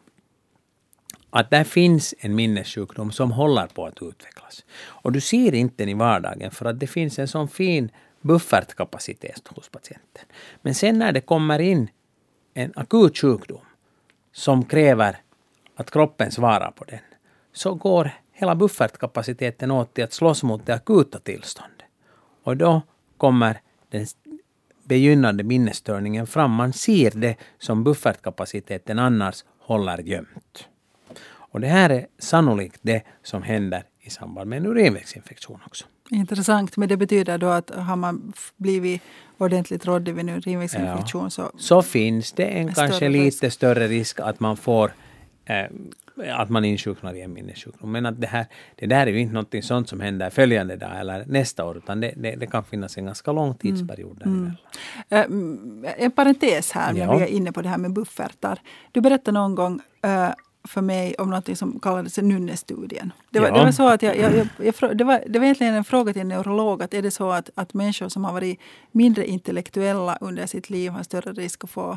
Att där finns en minnessjukdom som håller på att utvecklas. Och du ser inte den i vardagen för att det finns en sån fin buffertkapacitet hos patienten. Men sen när det kommer in en akut sjukdom som kräver att kroppen svarar på den, så går hela buffertkapaciteten åt till att slåss mot det akuta tillståndet. Och då kommer den begynnande minnesstörningen fram. Man ser det som buffertkapaciteten annars håller gömt. Och det här är sannolikt det som händer i samband med en urinvägsinfektion också. Intressant, men det betyder då att har man blivit ordentligt råddig vid en urinvägsinfektion, ja, så... Så finns det en kanske lite risk. större risk att man får... Eh, att man insjuknar i en minnessjukdom. Men att det, här, det där är ju inte något sånt som händer följande dag eller nästa år, utan det, det, det kan finnas en ganska lång tidsperiod mm. däremellan. Uh, en parentes här, när ja. vi är inne på det här med buffertar. Du berättade någon gång uh, för mig om något som kallades nunnestudien. Det var, ja. det var så att jag, jag, jag, jag, det, var, det var egentligen en fråga till en neurolog, att är det så att, att människor som har varit mindre intellektuella under sitt liv har större risk att få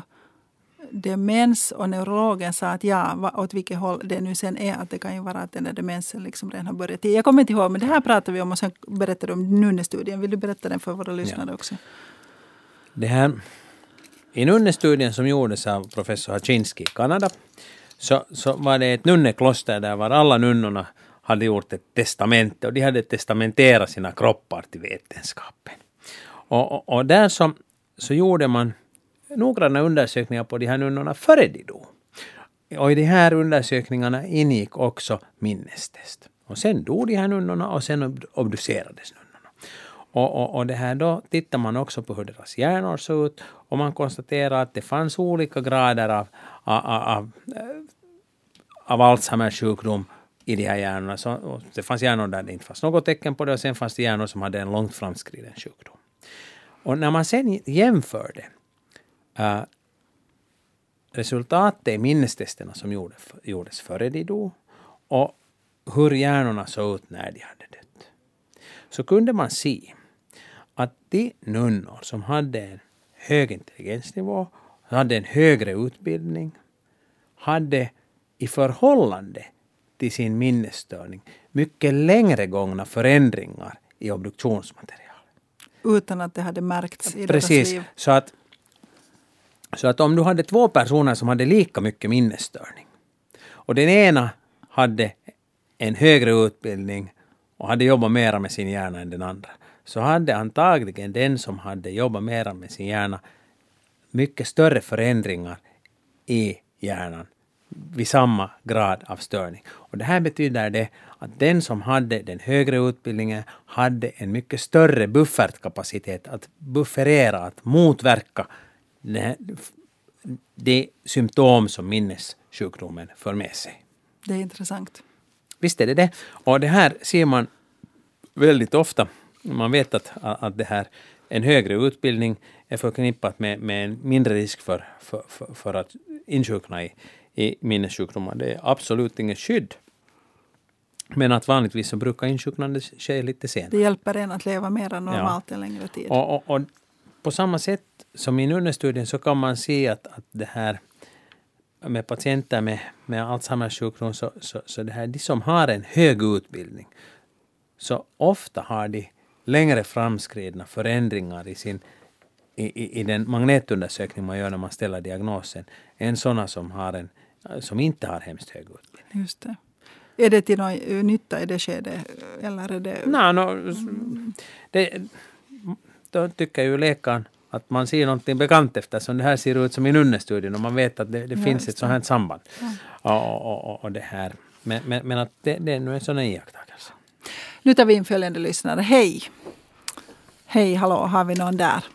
demens, och neurologen sa att ja, åt vilket håll det nu sen är, att det kan ju vara att den där demensen liksom redan har börjat. Jag kommer inte ihåg, men det här pratar vi om, och sen berättar du om nunnestudien. Vill du berätta den för våra lyssnare ja. också? Det här, i nunnestudien som gjordes av professor Haczynski i Kanada, så, så var det ett nunnekloster där var alla nunnorna hade gjort ett testamente, och de hade testamenterat sina kroppar till vetenskapen. Och, och, och där så, så gjorde man noggranna undersökningar på de här nunnorna före de dog. Och i de här undersökningarna ingick också minnestest. Och sen dog de här nunnorna och sen obducerades nunnorna. Och, och, och det här då tittar man också på hur deras hjärnor såg ut och man konstaterar att det fanns olika grader av, av, av, av Alzheimers sjukdom i de här hjärnorna. Så, det fanns hjärnor där det inte fanns något tecken på det och sen fanns det hjärnor som hade en långt framskriden sjukdom. Och när man sen jämförde uh, resultatet i minnestesterna som gjorde, gjordes före de dog och hur hjärnorna såg ut när de hade dött, så kunde man se att de nunnor som hade en hög intelligensnivå, hade en högre utbildning, hade i förhållande till sin minnesstörning mycket längre gångna förändringar i obduktionsmaterial. Utan att det hade märkts i Precis, deras liv. så att, så att om du hade två personer som hade lika mycket minnesstörning och den ena hade en högre utbildning och hade jobbat mera med sin hjärna än den andra, så hade antagligen den som hade jobbat mera med sin hjärna mycket större förändringar i hjärnan vid samma grad av störning. Och det här betyder det att den som hade den högre utbildningen hade en mycket större buffertkapacitet att bufferera, att motverka det, det symptom som minnessjukdomen för med sig. Det är intressant. Visst är det det. Och det här ser man väldigt ofta. Man vet att, att det här, en högre utbildning är förknippat med, med en mindre risk för, för, för, för att insjukna i, i minnessjukdomar. Det är absolut inget skydd. Men att vanligtvis så brukar insjuknande ske lite senare. Det hjälper en att leva mer normalt ja. en längre tid. Och, och, och på samma sätt som i nunnestudien så kan man se att, att det här med patienter med, med Alzheimers sjukdom så, så, så det här, de som har en hög utbildning så ofta har de längre framskridna förändringar i, sin, i, i, i den magnetundersökning man gör när man ställer diagnosen än sådana som, har en, som inte har hemskt hög utbildning. Just det. Är det till någon nytta i det skedet? Eller är det... Nej, no, det, då tycker ju läkaren att man ser någonting bekant eftersom det här ser ut som i nunnestudien och man vet att det, det ja, finns ett sådant här samband. Ja. Och, och, och det här. Men, men, men att det, det är nu en sån iakttagelse. Nu tar vi in följande lyssnare. Hej! Hej, hallå, har vi någon där?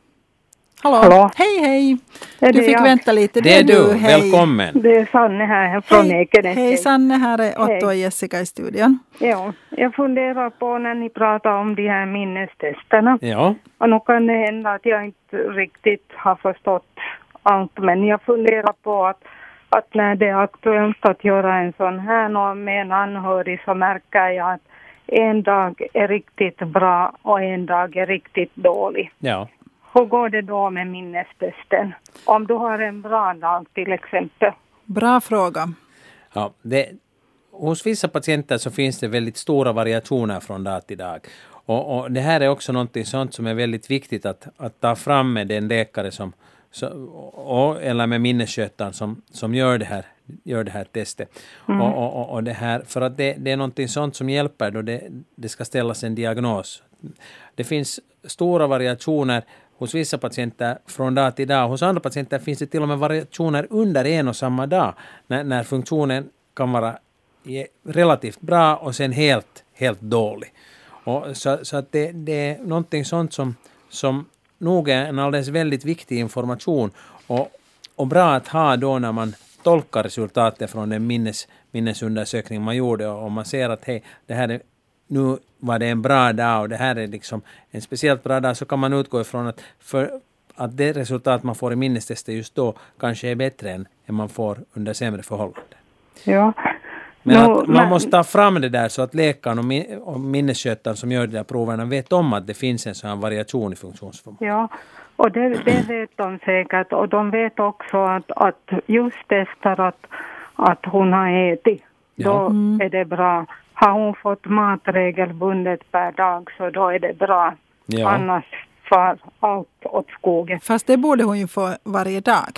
Hallå, hallå. Hej, hej! Du fick jag? vänta lite. Det är du, hej. Välkommen. Det är Sanne här från Ekenäs. Hej Sanne, här är Otto och Jessica i studion. Ja, jag funderar på när ni pratar om de här minnestesterna. Ja. Och nu kan det hända att jag inte riktigt har förstått allt, men jag funderar på att, att när det är aktuellt att göra en sån här med en anhörig så märker jag att en dag är riktigt bra och en dag är riktigt dålig. Ja. Hur går det då med minnestesten? Om du har en bra dag till exempel. Bra fråga. Ja, det, hos vissa patienter så finns det väldigt stora variationer från dag till dag. Och, och det här är också något sånt som är väldigt viktigt att, att ta fram med den läkare som, så, och, eller med minnesskötaren som, som gör det här, gör det här testet. Mm. Och, och, och det här, för att det, det är något sånt som hjälper då det, det ska ställas en diagnos. Det finns stora variationer hos vissa patienter från dag till dag. Hos andra patienter finns det till och med variationer under en och samma dag. När, när funktionen kan vara relativt bra och sen helt, helt dålig. Och så, så att det, det är någonting sånt som, som nog är en alldeles väldigt viktig information. Och, och bra att ha då när man tolkar resultatet från den minnes, minnesundersökning man gjorde. Och man ser att hej, det här är nu var det en bra dag och det här är liksom en speciellt bra dag, så kan man utgå ifrån att, för att det resultat man får i minnestestet just då kanske är bättre än, än man får under sämre förhållanden. Ja. Men no, att man men... måste ta fram det där så att läkaren och, min, och minnesskötaren som gör de där proverna vet om att det finns en sån här variation i funktionsförmåga. Ja, och det, det vet de säkert. Och de vet också att, att just testar att, att hon har ätit. Ja. Då mm. är det bra. Har hon fått mat regelbundet per dag så då är det bra. Ja. Annars far allt åt skogen. Fast det borde hon ju få varje dag.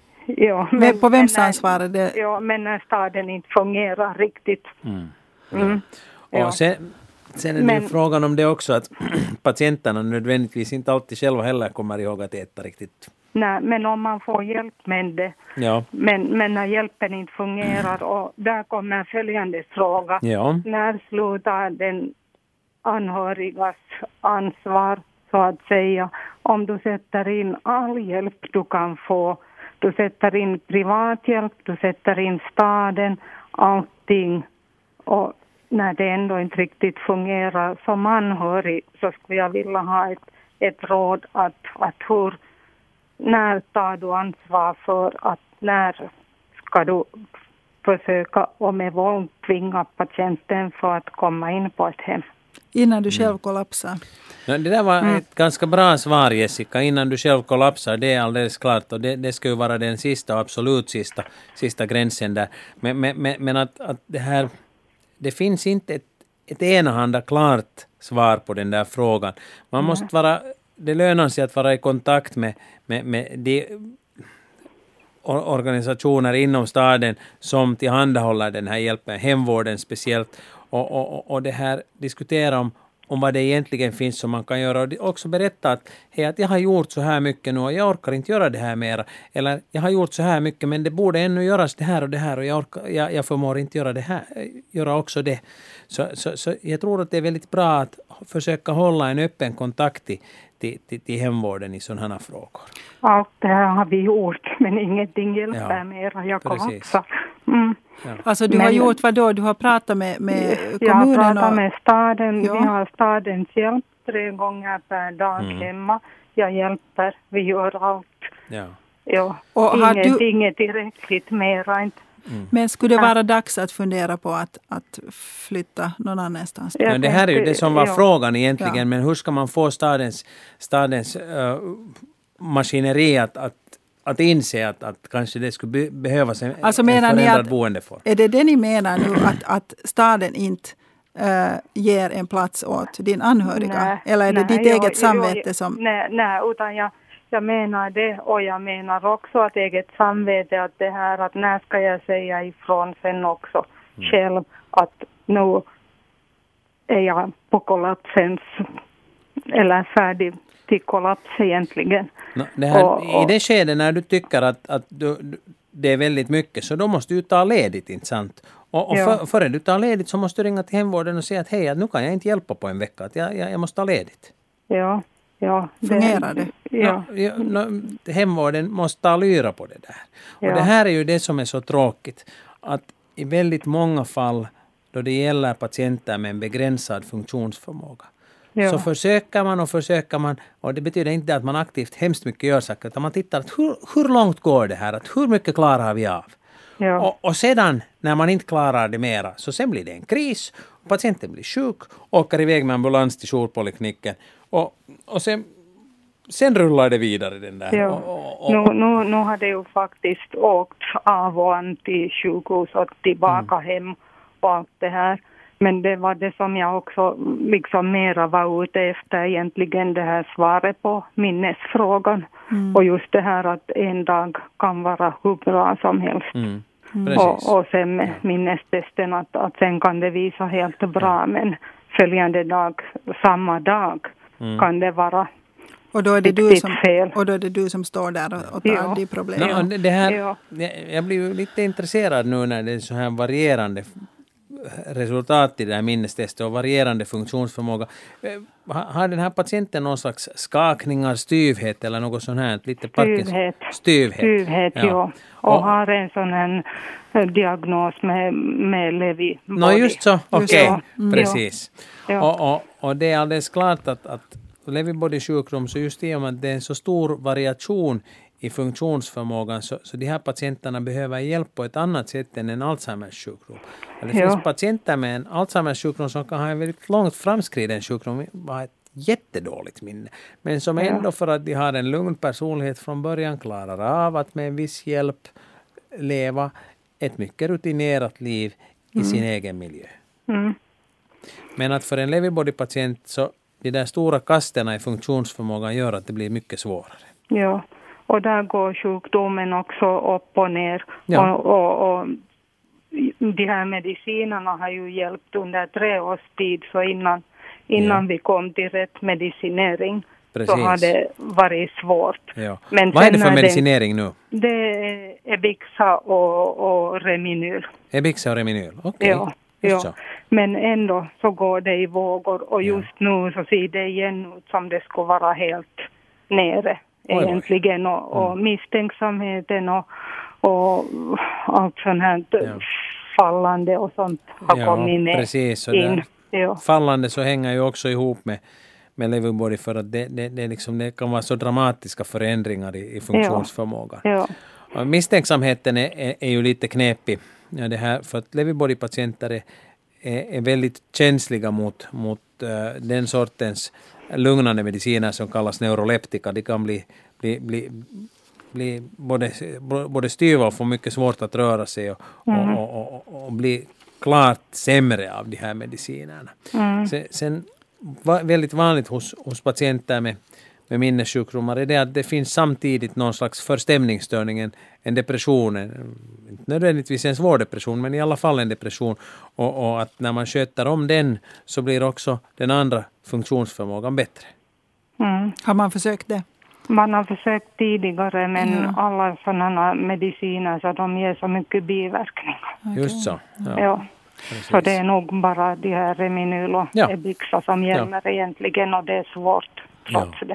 Ja, men, på vems ansvar är det? Ja, men när staden inte fungerar riktigt. Mm. Mm. Ja. Och sen, sen är det men, frågan om det också att patienterna nödvändigtvis inte alltid själva heller kommer ihåg att äta riktigt. Nej, men om man får hjälp med det. Ja. Men, men när hjälpen inte fungerar och där kommer följande fråga. Ja. När slutar den anhörigas ansvar så att säga. Om du sätter in all hjälp du kan få, du sätter in privathjälp, du sätter in staden, allting. Och när det ändå inte riktigt fungerar som anhörig så skulle jag vilja ha ett, ett råd att, att hur, när tar du ansvar för att när ska du försöka och med våld tvinga patienten för att komma in på ett hem. Innan du själv kollapsar. Ja, det där var mm. ett ganska bra svar, Jessica. Innan du själv kollapsar, det är alldeles klart. Och det, det ska ju vara den sista, absolut sista, sista gränsen där. Men, men, men att, att det här, det finns inte ett, ett enahanda klart svar på den där frågan. Man mm. måste vara, det lönar sig att vara i kontakt med, med, med de organisationer inom staden som tillhandahåller den här hjälpen, hemvården speciellt. Och, och, och det här diskutera om, om vad det egentligen finns som man kan göra. Och också berätta att, hej, att jag har gjort så här mycket nu och jag orkar inte göra det här mera. Eller jag har gjort så här mycket men det borde ännu göras det här och det här och jag, orkar, jag, jag förmår inte göra det här, göra också det. Så, så, så jag tror att det är väldigt bra att försöka hålla en öppen kontakt till, till, till, till hemvården i sådana här frågor. Allt det här har vi gjort men ingenting hjälper ja, mera. Jag kollapsar. Mm. Ja. Alltså du men, har gjort vad då? Du har pratat med, med kommunen? Jag har pratat och... med staden. Ja. Vi har stadens hjälp tre gånger per dag mm. hemma. Jag hjälper. Vi gör allt. Ja. Ja. Och inget, du... inget tillräckligt mera. Inte. Mm. Men skulle det vara dags att fundera på att, att flytta någon annanstans? Ja, det här är ju det som var ja. frågan egentligen. Ja. Men hur ska man få stadens, stadens uh, maskineri att, att Att inse att, att kanske det skulle be- behövas en, alltså en förändrad att, boendeform. Är det det ni menar nu att, att staden inte äh, ger en plats åt din anhöriga? Nej, eller är det nej, ditt jag, eget samvete jag, som... Nej, nej utan jag, jag menar det och jag menar också att eget samvete att det här att när ska jag säga ifrån sen också mm. själv att nu är jag på kollapsens eller färdig till kollaps egentligen. No, det här, och, och, I det skedet när du tycker att, att du, det är väldigt mycket så då måste du ta ledigt, inte sant? Och, och ja. för, före du tar ledigt så måste du ringa till hemvården och säga att hej, nu kan jag inte hjälpa på en vecka, att jag, jag, jag måste ta ledigt. Ja, ja. Fungerar det? Ja. No, ja, no, hemvården måste ta lyra på det där. Och ja. det här är ju det som är så tråkigt, att i väldigt många fall då det gäller patienter med en begränsad funktionsförmåga ja. så försöker man och försöker man, och det betyder inte att man aktivt hemskt mycket gör saker, utan man tittar att hur, hur långt går det här, att hur mycket klarar vi av? Ja. Och, och sedan när man inte klarar det mera så sen blir det en kris, patienten blir sjuk, åker iväg med ambulans till jourpolikliniken och, och sen, sen rullar det vidare den där. Ja. Och, och, och, nu, nu, nu har det ju faktiskt åkt av och an till sjukhus och tillbaka mm. hem och allt det här. Men det var det som jag också liksom mera var ute efter egentligen, det här svaret på minnesfrågan. Mm. Och just det här att en dag kan vara hur bra som helst. Mm. Mm. Och, och sen med minnestesten att, att sen kan det visa helt bra. Ja. Men följande dag, samma dag mm. kan det vara och då är det du som fel. Och då är det du som står där och, och tar ja. de problemen. No, det här, ja. Jag blir ju lite intresserad nu när det är så här varierande resultat i det här minnestestet och varierande funktionsförmåga. Har den här patienten någon slags skakningar, styvhet eller något sånt här? Lite styvhet. Styvhet, styvhet ja. ja. Och, och har en sån här diagnos med, med Lewy body. No, just så, okej, okay. mm. precis. Ja. Och, och, och det är alldeles klart att, att Lewy body sjukdom, så just i och med att det är en så stor variation i funktionsförmågan så, så de här patienterna behöver hjälp på ett annat sätt än en Alzheimers sjukdom. Det finns ja. patienter med en Alzheimers sjukdom som kan ha en väldigt långt framskriden sjukdom, bara ett jättedåligt minne. Men som ja. ändå för att de har en lugn personlighet från början klarar av att med en viss hjälp leva ett mycket rutinerat liv i mm. sin egen miljö. Mm. Men att för en Lewy body-patient så de där stora kasterna i funktionsförmågan gör att det blir mycket svårare. Ja. Och där går sjukdomen också upp och ner. Ja. Och, och, och de här medicinerna har ju hjälpt under tre års tid. Så innan, innan ja. vi kom till rätt medicinering Precis. så har det varit svårt. Ja. Men vad är det för medicinering nu? Det är Ebixa och, och Reminyl. Ebixa och Reminyl, okej. Okay. Ja. Just ja. så. Men ändå så går det i vågor och just Ja. nu så ser det igen ut som det skulle vara helt nere Oj, oj. egentligen och, och Mm. misstänksamheten och, och allt sånt här Ja. fallande och sånt har Ja, kommit ner precis. Och in. där, Ja. fallande så hänger ju också ihop med, med Lewy-body för att det, det, det, liksom, det kan vara så dramatiska förändringar i, i funktionsförmågan. Ja. Och misstänksamheten är, är, är ju lite knepig. Ja, det här, för att Lewy-body-patienter är, är, är väldigt känsliga mot, mot uh, den sortens lugnande mediciner som kallas neuroleptika. De kan bli, bli, bli, bli både, både styva och få mycket svårt att röra sig och, Mm. och, och, och, och bli klart sämre av de här medicinerna. Mm. Sen, sen va, väldigt vanligt hos, hos patienter med, med minnessjukdomar är det att det finns samtidigt någon slags förstämningsstörning, en, en depression, en, inte nödvändigtvis en svår depression, men i alla fall en depression. Och, och att när man sköter om den så blir också den andra funktionsförmågan bättre. Mm. Har man försökt det? Man har försökt tidigare men Ja. alla sådana mediciner så de ger så mycket biverkningar. Just så. Ja, Ja. precis. Så det är nog bara de här Reminyl och Ja. Ebixa som gäller egentligen och det är svårt trots Ja. det.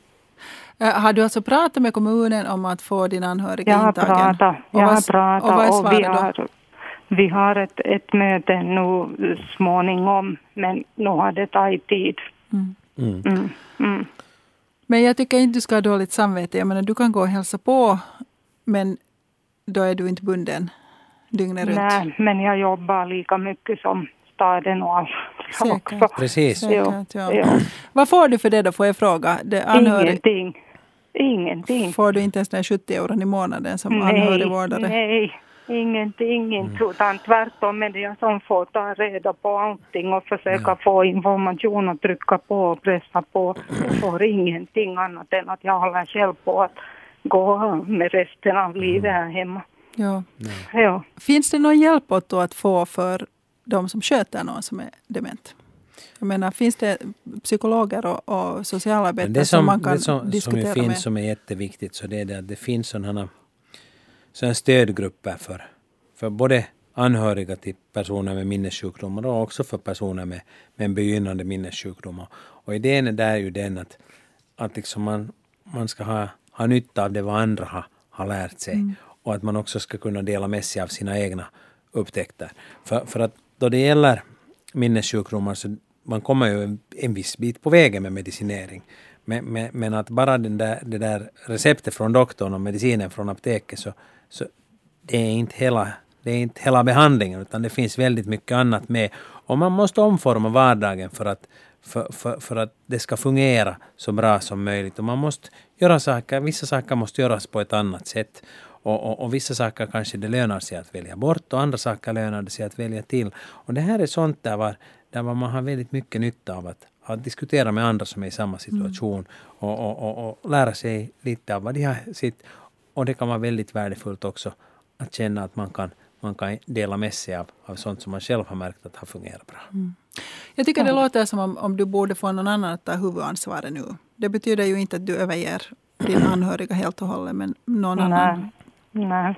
Äh, Har du alltså pratat med kommunen om att få din anhöriga Jag har intagen? pratat, Och jag vad- har pratat och vad är och, vi, svaret då? har, vi har ett, ett möte nu småningom men nu har det tagit tid. Mm. Mm. Mm. Mm. Men jag tycker inte du ska ha dåligt samvete. Jag menar, du kan gå och hälsa på, men då är du inte bunden dygnet runt. Nej, men jag jobbar lika mycket som staden och allt Säkert. också. Precis. Säkert, ja. Ja. Vad får du för det då, får jag fråga? Det anhörig, Ingenting. Ingenting. får du inte ens den sjuttio euron i månaden som Nej, anhörigvårdare? nej, ingenting. Mm. Inte, utan tvärtom är det jag som får ta reda på allting och försöka Ja. få information och trycka på och pressa på. Jag får ingenting annat än att jag håller själv på att gå med resten av livet här hemma. Ja. Ja. Finns det någon hjälp åt då att få för de som sköter någon som är dement? Jag menar, finns det psykologer och, och socialarbetare Men det som, som, man kan det som, som diskutera ju finns med? som är jätteviktigt så det är det att det finns sådana, sådana stödgrupper för, för både anhöriga till personer med minnessjukdomar och också för personer med, med en begynnande minnessjukdomar. Och idén är där ju den att, att liksom man, man ska ha, ha nytta av det vad andra har, har lärt sig Mm. och att man också ska kunna dela med sig av sina egna upptäckter. För, för att då det gäller minnessjukdomar så man kommer ju en, en viss bit på vägen med medicinering. Men, men, men att bara den där, det där receptet från doktorn och medicinen från apoteket så, så det är inte hela, det är inte hela behandlingen utan det finns väldigt mycket annat med. Och man måste omforma vardagen för att, för, för, för att det ska fungera så bra som möjligt. Och man måste göra saker, vissa saker måste göras på ett annat sätt. Och, och, och vissa saker kanske det lönar sig att välja bort och andra saker lönar det sig att välja till. Och det här är sånt där var, där var man har väldigt mycket nytta av att, att diskutera med andra som är i samma situation mm. och, och, och, och lära sig lite av vad de har sitt. Och det kan vara väldigt värdefullt också att känna att man kan, man kan dela med sig av, av sånt som man själv har märkt att har fungerat bra. Mm. Jag tycker det låter som om, om du borde få någon annan att ta huvudansvaret nu. Det betyder ju inte att du överger din anhöriga helt och hållet, men någon Nej. annan. Nej,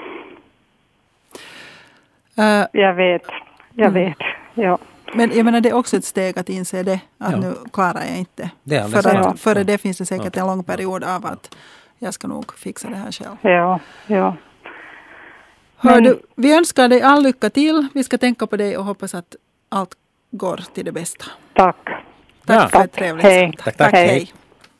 Uh, jag vet. Jag Mm. vet. Ja. men jag menar, det är också ett steg att inse det. Att Ja. nu klarar jag inte. Det är alldeles För klart. att, före Ja. det finns det säkert Ja. en lång period av att jag ska nog fixa det här själv. Ja, ja. Hör Men- du, vi önskar dig all lycka till. Vi ska tänka på dig och hoppas att allt går till det bästa. Tack. Tack Ja. för ett trevligt Hej. samtal. Tack, tack. hej. Hej.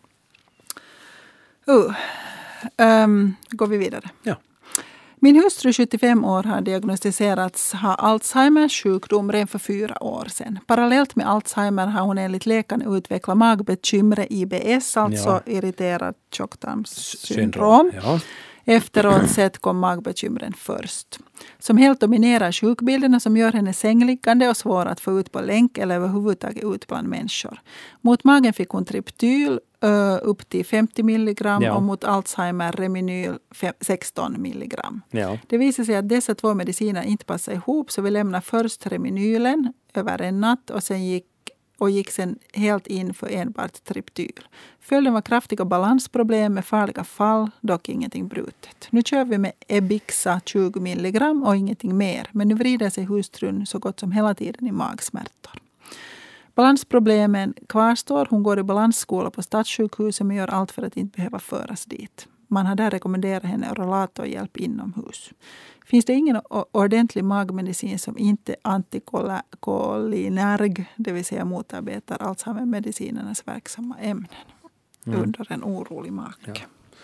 Uh, um, går vi vidare. Ja. Min hustru, sjuttiofem år, har diagnostiserats ha Alzheimers sjukdom redan för fyra år sedan. Parallellt med Alzheimer har hon enligt läkaren utvecklat magbekymre I B S, alltså Ja. irriterat tjocktarmssyndrom. Ja. Efteråt sett kom magbekymren först. Som helt dominerar sjukbilderna som gör henne sängliggande och svår att få ut på länk eller överhuvudtaget ut bland människor. Mot magen fick hon Triptyl uh, upp till femtio milligram Ja. och mot Alzheimer Reminyl fem, sexton milligram. Ja. Det visade sig att dessa två mediciner inte passade ihop så vi lämnade först Reminylen över en natt och sen gick och gick sen helt in för enbart Triptyl. Följden var kraftiga balansproblem med farliga fall, dock ingenting brutet. Nu kör vi med Ebixa tjugo milligram och ingenting mer, men nu vrider sig hustrun så gott som hela tiden i magsmärtor. Balansproblemen kvarstår. Hon går i balansskola på Stadssjukhuset men gör allt för att inte behöva föras dit. Man har där rekommenderat henne rollatorhjälp inomhus. Finns det ingen ordentlig magmedicin som inte antikolinerg, det vill säga motarbetar Alzheimer-medicinernas verksamma ämnen mm. under en orolig mage?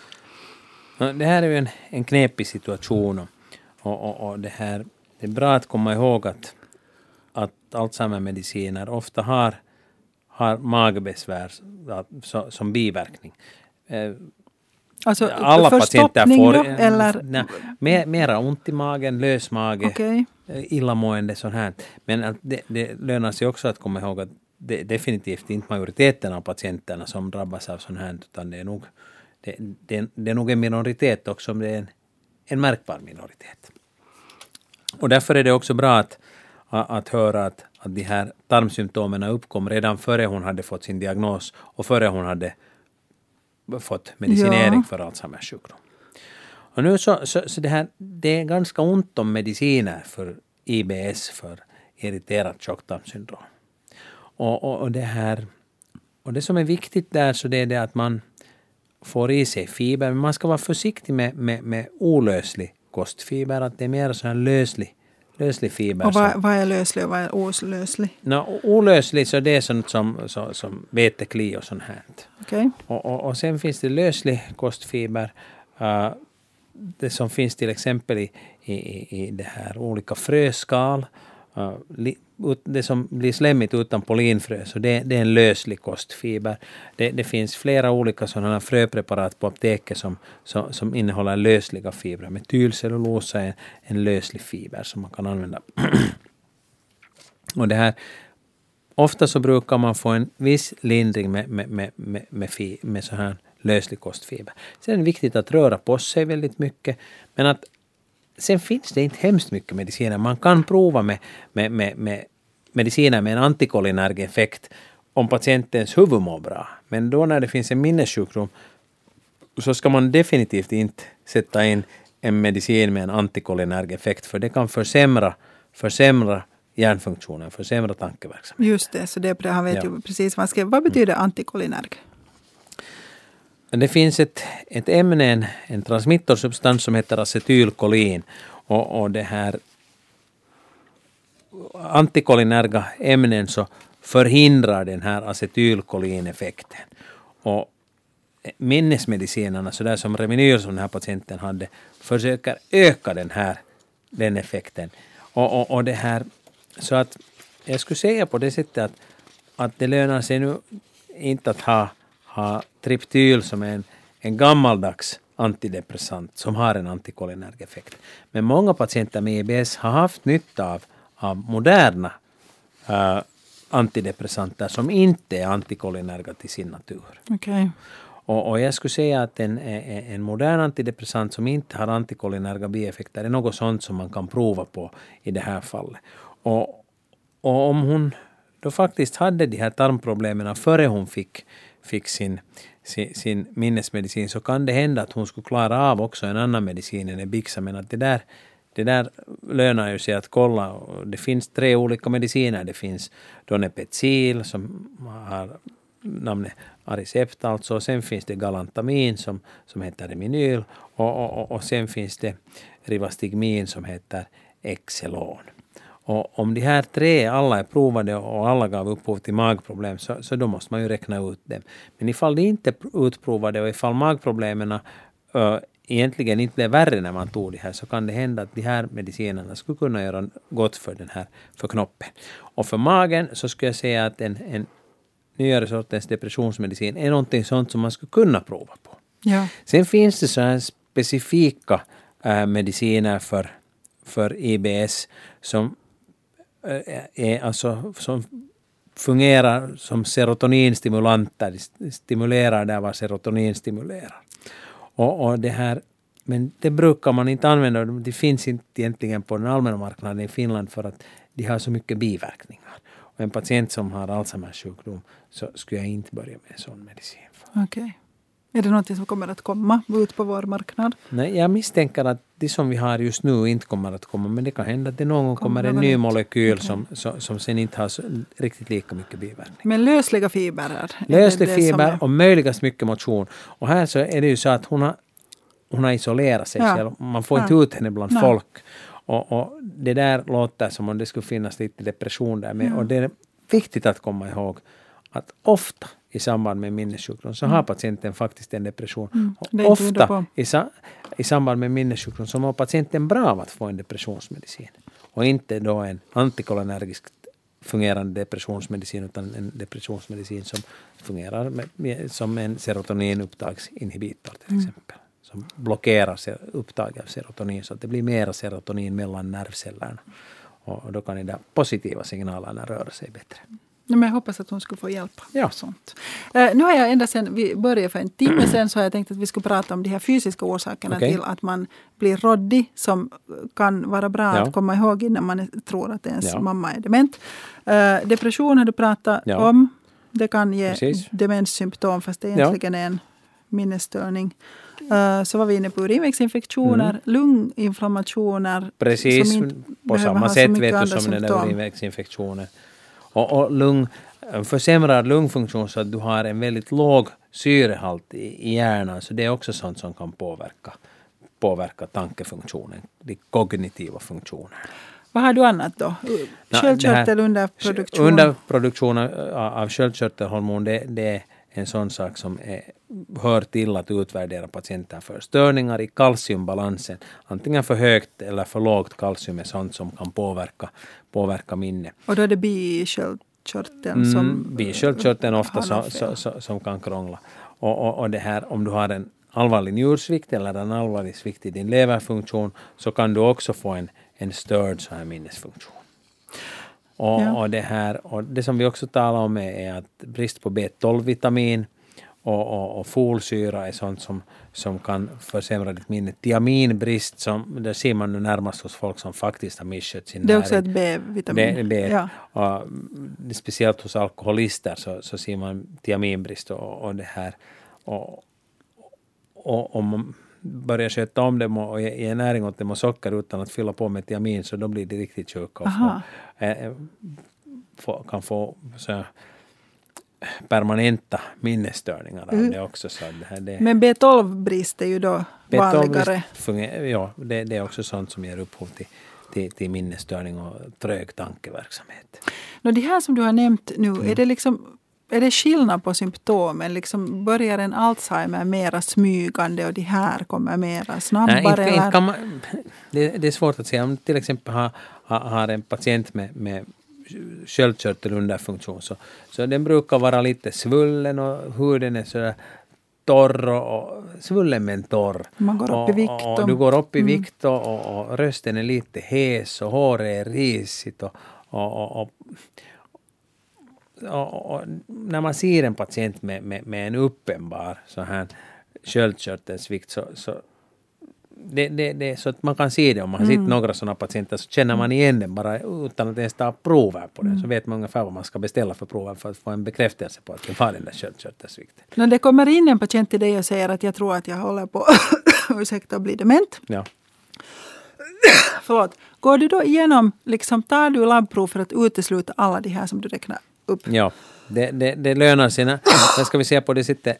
Ja. Det här är ju en, en knepig situation och, och, och det, här, det är bra att komma ihåg att, att Alzheimer-mediciner ofta har, har magbesvär så, som biverkning. Alltså, alla patienter får då, eller? Nej, mer, mera ont i magen, lös mage, okay. illamående sånt här. Men det, det lönar sig också att komma ihåg att det är definitivt inte majoriteten av patienterna som drabbas av sånt här, utan det är nog, det, det, det är nog en minoritet också, om det är en, en märkbar minoritet. Och därför är det också bra att, att höra att, att de här tarmsymptomen uppkom redan före hon hade fått sin diagnos och före hon hade fått medicinering ja. för Alzheimers sjukdom. Och nu så, så, så det här, det är ganska ont om mediciner för I B S, för irriterat tjocktarmssyndrom. Och, och, och det här, och det som är viktigt där, så det är det att man får i sig fiber, men man ska vara försiktig med, med, med olöslig kostfiber, att det är mer sån här löslig löslig fiber. Och vad, vad är löslig och vad är olöslig? No, olöslig, så det är sånt som, som, som vetekli och sånt här. Okay. Och, och, och sen finns det löslig kostfiber. Uh, det som finns till exempel i, i, i det här olika fröskal. Uh, li, ut, det som blir slemmigt utan pollinfrö, så det, det är en löslig kostfiber. Det, det finns flera olika sådana fröpreparat på apoteket som, som, som innehåller lösliga fibrer. Metylcellulosa är en, en löslig fiber som man kan använda. Och det här, ofta så brukar man få en viss lindring med, med, med, med, med, fi, med så här löslig kostfiber. Sen är det viktigt att röra på sig väldigt mycket, men att sen finns det inte hemskt mycket mediciner. Man kan prova med, med, med, med mediciner med en antikolinerg effekt om patientens huvud mår bra. Men då när det finns en minnessjukdom så ska man definitivt inte sätta in en medicin med en antikolinerg effekt, för det kan försämra, försämra hjärnfunktionen, försämra tankeverksamheten. Just det, så det han vet ja. ju precis vad han skrev. Vad betyder mm. antikolinerg? Det finns ett, ett ämne, en, en transmittorsubstans som heter acetylkolin, och, och det här antikolinerga ämnen så förhindrar den här acetylkolineffekten. Och minnesmedicinerna, så där som Reminyl som den här patienten hade, försöker öka den här den effekten. Och, och, och det här, så att jag skulle säga på det sättet att, att det lönar sig nu inte att ha ha Triptyl som är en, en gammaldags antidepressant som har en antikolinerg effekt. Men många patienter med I B S har haft nytta av, av moderna uh, antidepressanter som inte är antikolinerga till sin natur. Okay. Och, och jag skulle säga att en, en modern antidepressant som inte har antikolinerga bieffekter är något sånt som man kan prova på i det här fallet. Och, och om hon då faktiskt hade de här tarmproblemen före hon fick fick sin, sin, sin minnesmedicin, så kan det hända att hon skulle klara av också en annan medicin än Ebixa, men att det där, det där lönar ju sig att kolla. Det finns tre olika mediciner. Det finns Donepezil som har namnet Aricept, alltså, och sen finns det Galantamin som, som heter Reminyl, och, och, och sen finns det Rivastigmin som heter Exelon. Och om de här tre alla är provade och alla gav upphov till magproblem, så, så då måste man ju räkna ut dem. Men ifall de inte är utprovade och ifall magproblemen uh, egentligen inte blev värre när man tog det här, så kan det hända att de här medicinerna skulle kunna göra gott för den här för knoppen. Och för magen så skulle jag säga att en, en nyare sortens depressionsmedicin är någonting sånt som man skulle kunna prova på. Ja. Sen finns det så här specifika uh, mediciner för, för I B S som är alltså som fungerar som serotoninstimulanter, de stimulerar där vad serotonin stimulerar. Och, och det här, men det brukar man inte använda, det finns inte egentligen på den allmänna marknaden i Finland för att de har så mycket biverkningar. en patient som har Alzheimers sjukdom så skulle jag inte börja med sån medicin. Okej. Okay. Är det något som kommer att komma ut på vår marknad? Nej, jag misstänker att det som vi har just nu inte kommer att komma, men det kan hända att det någon gång kommer, kommer en ny molekyl okay. som, som, som sen inte har så, riktigt lika mycket biverkning. Men lösliga fibrer? Löslig fiber är... och möjligast mycket motion. Och här så är det ju så att hon har, hon har isolerat sig ja. själv. Man får ja. inte ut henne bland Nej. folk. Och, och det där låter som om det skulle finnas lite depression där med. Ja. Och det är viktigt att komma ihåg att ofta i samband med minnessjukdom så mm. har patienten faktiskt en depression. Mm. Och ofta i, sa, i samband med minnessjukdom så mår patienten bra av att få en depressionsmedicin. Och inte då en antikolinergiskt fungerande depressionsmedicin utan en depressionsmedicin som fungerar med, med, som en serotoninupptagsinhibitor till mm. exempel. Som blockerar upptaget av serotonin så att det blir mera serotonin mellan nervcellerna. Och, och då kan de positiva signalerna röra sig bättre. Men jag hoppas att hon skulle få hjälp. Ja. Sånt. Uh, nu har jag ända sedan vi började för en timme sedan så har jag tänkt att vi skulle prata om de här fysiska orsakerna okay. till att man blir råddig som kan vara bra ja. att komma ihåg innan man tror att ens ja. mamma är dement. Uh, depression har du pratat ja. om. Det kan ge Precis. demenssymptom fast det egentligen ja. är en minnesstörning. Uh, så var vi inne på urinvägsinfektioner, mm. lunginflammationer. Precis, på samma sätt vet du som den där urinvägsinfektionen. Och, och lung, försämrad lungfunktion så att du har en väldigt låg syrehalt i, i hjärnan. Så det är också sånt som kan påverka, påverka tankefunktionen, de kognitiva funktionerna. Vad har du annat då? Sköldkörtel under produktion? Underproduktion av sköldkörtelhormon, det, det är en sån sak som är, hör till att utvärdera patienter för. Störningar i kalciumbalansen, antingen för högt eller för lågt kalcium är sånt som kan påverka, påverka minne. Och då är det bisköldkörteln som... Mm, bisköldkörteln ofta så, så, så, som kan krångla. Och, och, och det här, om du har en allvarlig njursvikt eller en allvarlig svikt i din leverfunktion så kan du också få en, en störd så här minnesfunktion. Och, ja. och, det här, och det som vi också talar om är, är att brist på B tolv-vitamin och, och, och folsyra är sånt som, som kan försämra ditt minne. Tiaminbrist, som, det ser man nu närmast hos folk som faktiskt har misskött sin näring. Det är också ett B-vitamin. B, B, ja. och, speciellt hos alkoholister så, så ser man tiaminbrist och, och det här. Och, och om man börjar sköta om dem och ge näring åt dem och socker utan att fylla på med tiamin så då blir det riktigt sjuka och få, eh, få, kan få så permanenta minnesstörningar av mm. det också. Så det här, det, men B tolv-brist är ju då vanligare. Funger, ja, det, det är också sånt som ger upphov till, till, till minnesstörning och trög tankeverksamhet. Nå, det här som du har nämnt nu, mm. är det liksom är det skillnad på symptomen? Liksom börjar en Alzheimer mera smygande och de här kommer mera snabbare? Nej, inte, inte kan man, det, det är svårt att säga. Om till exempel har, har en patient med, med sköldkörtelunderfunktion så, så den brukar vara lite svullen och huden är sådär torr och svullen men torr. Man går upp i vikt. Och, och du går upp i mm. vikt och, och, och rösten är lite hes och håret är risigt och, och, och, och Och, och när man ser en patient med, med, med en uppenbar så här sköldkörtelsvikt så, så det, det, det, så att man kan se det om man har mm. sett några sådana patienter så känner man igen den bara utan att ens ta prover på den mm. så vet man ungefär vad man ska beställa för prover för att få en bekräftelse på att det var den där sköldkörtelsvikten. När det kommer in en patient till dig och säger att jag tror att jag håller på ursäkta att bli dement. Ja. Förlåt. Går du då igenom, liksom tar du labbprov för att utesluta alla de här som du räknar upp? Ja, det, det, det lönar sig. Sen ska vi se på det sättet.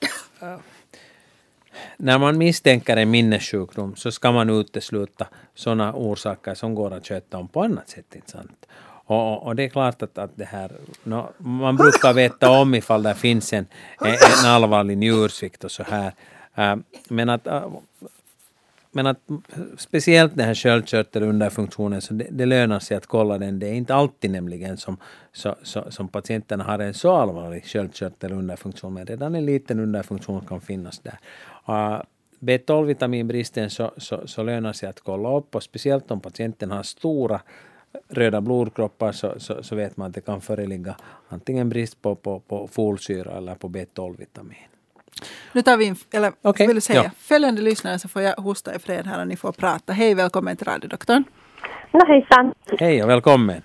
När man misstänker en minnessjukdom så ska man utesluta sådana orsaker som går att sköta om på annat sätt. Inte sant? Och, och det är klart att, att det här, no, man brukar veta om ifall det finns en, en allvarlig njursvikt och så här. Uh, men att uh, Men att speciellt den här sköldkörtelunderfunktionen så det, det lönar sig att kolla den. Det är inte alltid nämligen som, så, så, som patienterna har en så allvarlig sköldkörtelunderfunktion. Men redan en liten underfunktion kan finnas där. Uh, B tolv-vitaminbristen så, så, så lönar sig att kolla upp. Och speciellt om patienten har stora röda blodkroppar så, så, så vet man att det kan föreligga antingen brist på, på, på folsyra eller på B tolv-vitamin. Nu tar vi in, eller okay, vill du säga, ja. Följande lyssnare så får jag hosta i fred här och ni får prata. Hej, välkommen till radiodoktorn. No hejsan. Hej och välkommen. Tack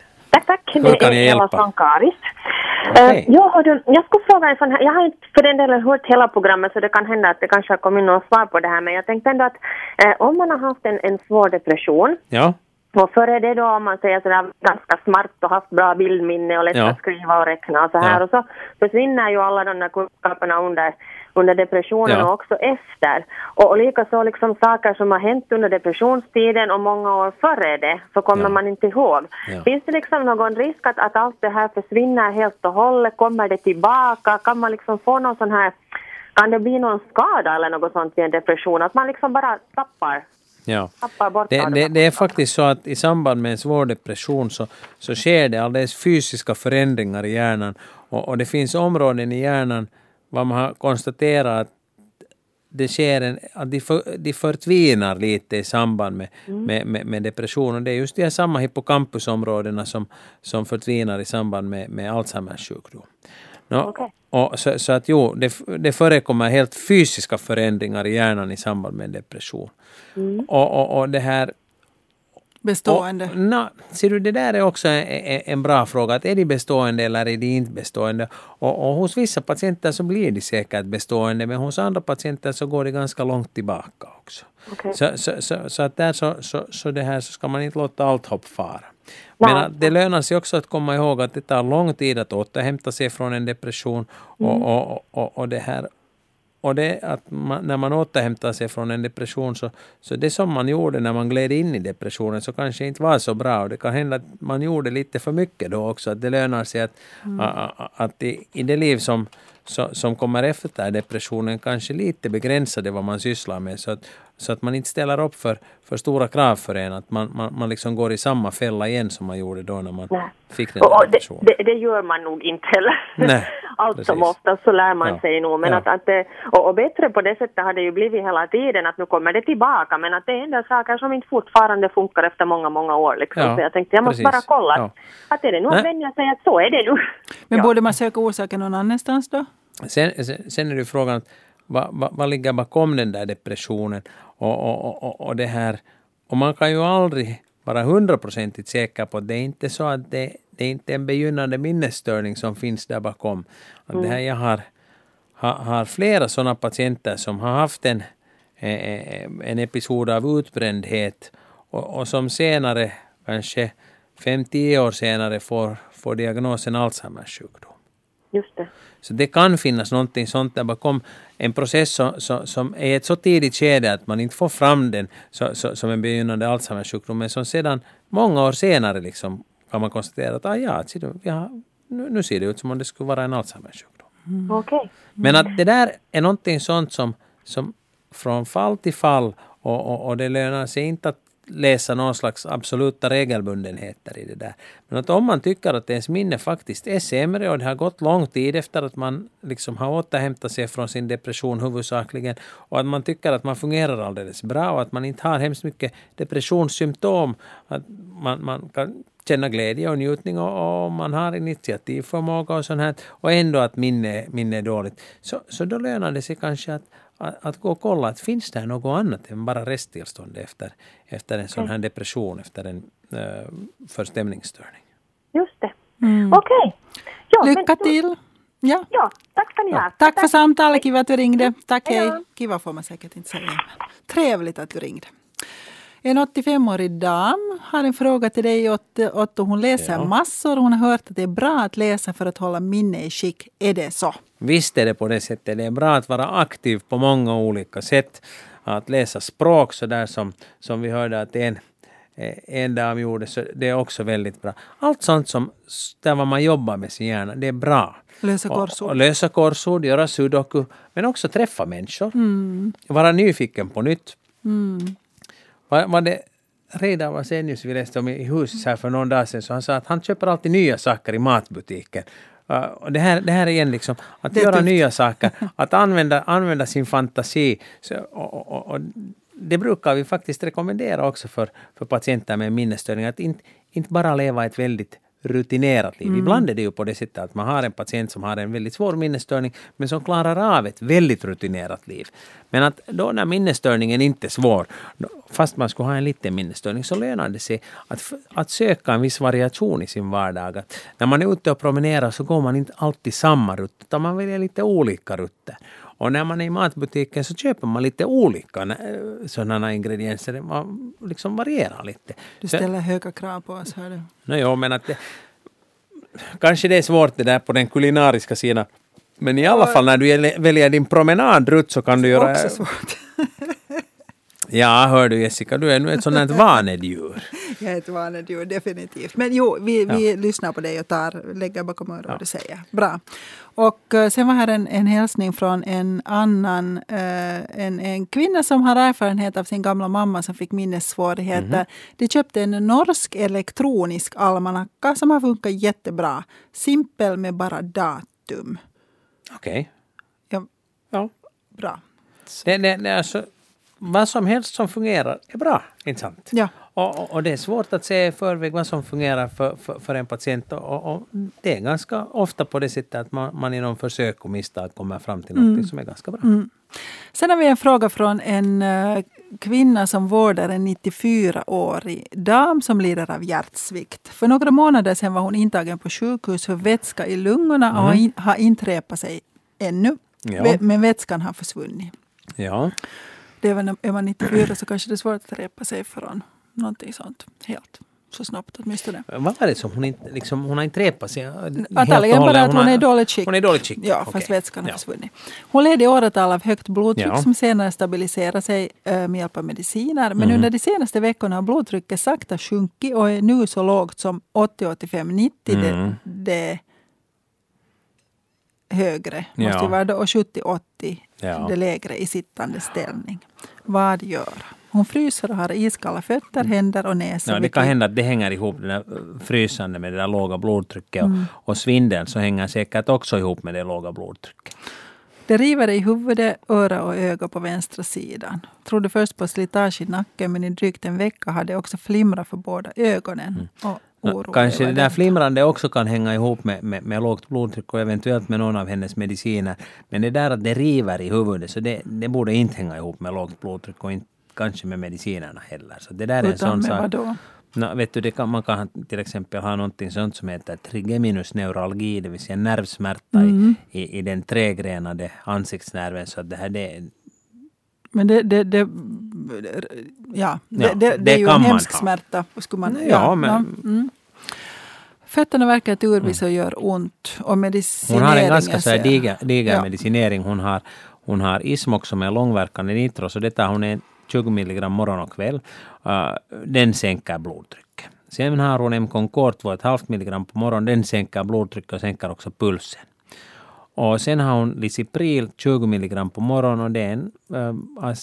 tack. Hur kan jag hjälpa? Sankaris. Okay. Uh, jag, hörde, jag skulle fråga en sån här, jag har inte för den delen hört hela programmet så det kan hända att det kanske har kommit någon svar på det här, men jag tänkte ändå att uh, om man har haft en, en svår depression, ja. och före det då om man säger sådär ganska smart och haft bra bildminne och lätt ja. att skriva och räkna och så här, ja. och så försvinner ju alla de där kunskaperna under, under depressionen ja. och också efter. Och, och likaså liksom saker som har hänt under depressionstiden och många år före det så kommer ja. man inte ihåg. Ja. Finns det liksom någon risk att, att allt det här försvinner helt och hållet? Kommer det tillbaka? Kan man liksom få någon sån här, kan det bli någon skada eller något sånt vid en depression? Att man liksom bara tappar Ja, det, det, det är faktiskt så att i samband med en svår depression så, så sker det alldeles fysiska förändringar i hjärnan och, och det finns områden i hjärnan var man har konstaterat att det sker en, att de, för, de förtvinar lite i samband med, mm. med, med, med depression och det är just de här samma hippocampusområdena som, som förtvinar i samband med, med Alzheimers sjukdom. No, okay. och så, så att jo, det, det förekommer helt fysiska förändringar i hjärnan i samband med depression. Mm. Och, och, och det här bestående. Och, na, ser du, det där är också en, en bra fråga. Att är de bestående eller är de inte bestående? Och, och hos vissa patienter så blir de säkert bestående, men hos andra patienter så går det ganska långt tillbaka också. Okay. Så, så, så, så att där så, så, så det här så ska man inte låta allt hopp fara. Men att det lönar sig också att komma ihåg att det tar lång tid att återhämta sig från en depression och, mm. och, och, och det här och det att man, när man återhämtar sig från en depression så, så det som man gjorde när man gled in i depressionen så kanske inte var så bra och det kan hända att man gjorde lite för mycket då också, att det lönar sig att, mm. att, att i, i det liv som, så, som kommer efter depressionen kanske lite begränsade vad man sysslar med så att, så att man inte ställer upp för, för stora krav för en, att man, man, man liksom går i samma fälla igen som man gjorde då när man Nej. fick den och depressionen. Det, det, det gör man nog inte heller. Nej, allt precis. som ofta så lär man ja. sig nog. Men ja. att, att det, och, och bättre på det sättet har det ju blivit hela tiden att nu kommer det tillbaka. Men att det är en del saker som inte fortfarande funkar efter många, många år. Liksom. Ja, så jag tänkte jag måste precis. bara kolla ja. att, att är det nog att vänja sig att så är det nu. Men ja. borde man söka orsaken någon annanstans då? Sen, sen, sen är det frågan att vad, vad, vad ligger bakom den där depressionen och, och, och, och det här. Och man kan ju aldrig vara hundraprocentigt säker på att det är inte så att det, det är inte en begynnande minnesstörning som finns där bakom. Att mm. det här, jag har, har, har flera sådana patienter som har haft en, en episod av utbrändhet och, och som senare, kanske fem till tio år senare, får, får diagnosen Alzheimers sjukdom. Just det. Så det kan finnas någonting sånt där bakom en process som, som, som är ett så tidigt skede att man inte får fram den så, så, som en begynnande Alzheimers sjukdom, men som sedan många år senare liksom kan man konstatera att ah, ja, ja, nu, nu ser det ut som om det skulle vara en Alzheimers sjukdom. Mm. Okay. Men att det där är någonting sånt som, som från fall till fall och, och, och det lönar sig inte att läsa någon slags absoluta regelbundenheter i det där. Men att om man tycker att ens minne faktiskt är sämre och det har gått lång tid efter att man liksom har återhämtat sig från sin depression huvudsakligen och att man tycker att man fungerar alldeles bra och att man inte har hemskt mycket depressionssymptom, att man, man kan känna glädje och njutning och, och man har initiativförmåga och sånt här och ändå att minne, minne är dåligt. Så, så då lönar det sig kanske att Att, att gå och kolla att finns det något annat än bara resttillstånd efter, efter en sån här depression, efter en uh, förstämningsstörning. Just det. Mm. Okej. Okay. Lycka till. Ja. ja, tack ska ni ha. Ja, tack, tack för samtalet, kiva att du ringde. Tack, hej. hej. Kiva får man säkert inte säga. Trevligt att du ringde. En åttiofemårig dam har en fråga till dig, Otto. Hon läser ja. massor. Hon har hört att det är bra att läsa för att hålla minne i skick. Är det så? Visst är det på det sättet. Det är bra att vara aktiv på många olika sätt. Att läsa språk så där som, som vi hörde att en, en dam gjorde, så det är också väldigt bra. Allt sånt som där man jobbar med sin hjärna, det är bra. Lösa korsord. Och, och lösa korsord, göra sudoku, men också träffa människor. Mm. Vara nyfiken på nytt. Mm. Var, var det redan var Senius vi läste om i huset här för någon dag sedan, så han sa att han köper alltid nya saker i matbutiken. Uh, och det här, det här är igen liksom att göra tufft. nya saker, att använda, använda sin fantasi. Så, och, och, och det brukar vi faktiskt rekommendera också för, för patienter med minnesstörningar, att inte, inte bara leva ett väldigt rutinerat liv. Mm. Ibland är det ju på det sättet att man har en patient som har en väldigt svår minnesstörning men som klarar av ett väldigt rutinerat liv. Men att då när minnesstörningen inte är svår, fast man skulle ha en liten minnesstörning, så lönar det sig att, att söka en viss variation i sin vardag. Att när man är ute och promenerar så går man inte alltid samma rutt, utan man väljer lite olika rutter. Och när man är i matbutiken så köper man lite olika sådana ingredienser. Man liksom varierar lite. Du ställer så, höga krav på oss, hör du? No, jo, men att det, kanske det är svårt det där på den kulinariska sidan. Men i alla fall när du väljer din promenadrutt så kan du göra... Också svårt. Ja, hör du Jessica, du är nu ett sådant här vanedjur. Jag är ett vanedjur, definitivt. Men jo, vi, vi ja. lyssnar på dig och tar, lägger bakom örat vad ja. du säger. Bra. Och uh, sen var här en, en hälsning från en annan, uh, en, en kvinna som har erfarenhet av sin gamla mamma som fick minnessvårigheter. Mm-hmm. De köpte en norsk elektronisk almanacka som har funkat jättebra. Simpel med bara datum. Okej. Okay. Ja. ja. Bra. Det, det, det är så... Vad som helst som fungerar är bra, inte sant? Ja. Och, och, och det är svårt att se i förväg vad som fungerar för, för, för en patient. Och, och det är ganska ofta på det sättet att man, man i någon försök och misstag kommer fram till något mm. som är ganska bra. Mm. Sen har vi en fråga från en uh, kvinna som vårdar en nittiofyraårig dam som lider av hjärtsvikt. För några månader sedan var hon intagen på sjukhus för vätska i lungorna mm. och in, har inte repat sig ännu. Ja. Men vätskan har försvunnit. Ja. Det är väl, är man nittiofyra så kanske det är svårt att repa sig från någonting sånt helt så snabbt åtminstone. Vad var det som hon inte, liksom, hon har inte repat sig? Antagligen bara att hon, hon är dåligt skick. Hon är dåligt skick? Ja, okay. fast vätskan har ja. försvunnit. Hon led i åratal av högt blodtryck ja. som senare stabiliserar sig äh, med hjälp av mediciner. Men mm. under de senaste veckorna har blodtrycket sakta sjunkit och är nu så lågt som åttio, åttiofem, nittio. Mm. Det, det högre måste ja. vara då, och sjuttio, åttio ja. det lägre i sittande ställning. Vad gör? Hon fryser och har iskalla fötter, händer och näsa. Ja, det kan hända att det hänger ihop det där frysande med det där låga blodtrycket mm. och, och svindeln så hänger säkert också ihop med det låga blodtrycket. Det river i huvudet, öra och öga på vänstra sidan. Trodde först på slitage i nacken men i drygt en vecka hade också flimrat för båda ögonen. Mm. Och No, kanske det där flimrande också kan hänga ihop med, med, med lågt blodtryck och eventuellt med någon av hennes mediciner. Men det där att det river i huvudet så det, det borde inte hänga ihop med lågt blodtryck och inte kanske med medicinerna heller. Så det där är en sån sak. Vadå? No, vet du, det kan, man kan till exempel ha någonting sånt som heter trigeminusneuralgi, det vill säga nervsmärta mm. i, i, i den tregrenade ansiktsnerven. Så att det här det Men det, det, det, ja, det, ja, det, det, det är ju en hemsk smärta. Skulle man, ja, ja, men... ja, mm. Fötterna verkar turvis och gör ont. Och hon har en ganska så här ser, diger, diger ja. medicinering. Hon har, hon har Ismox som är långverkande nitro. Så detta hon är tjugo milligram morgon och kväll. Uh, den sänker blodtrycket. Sen har hon en Concorde två komma fem milligram på morgon. Den sänker blodtrycket och sänker också pulsen. Och sen har hon Lisipril tjugo milligram på morgon och det är en äh,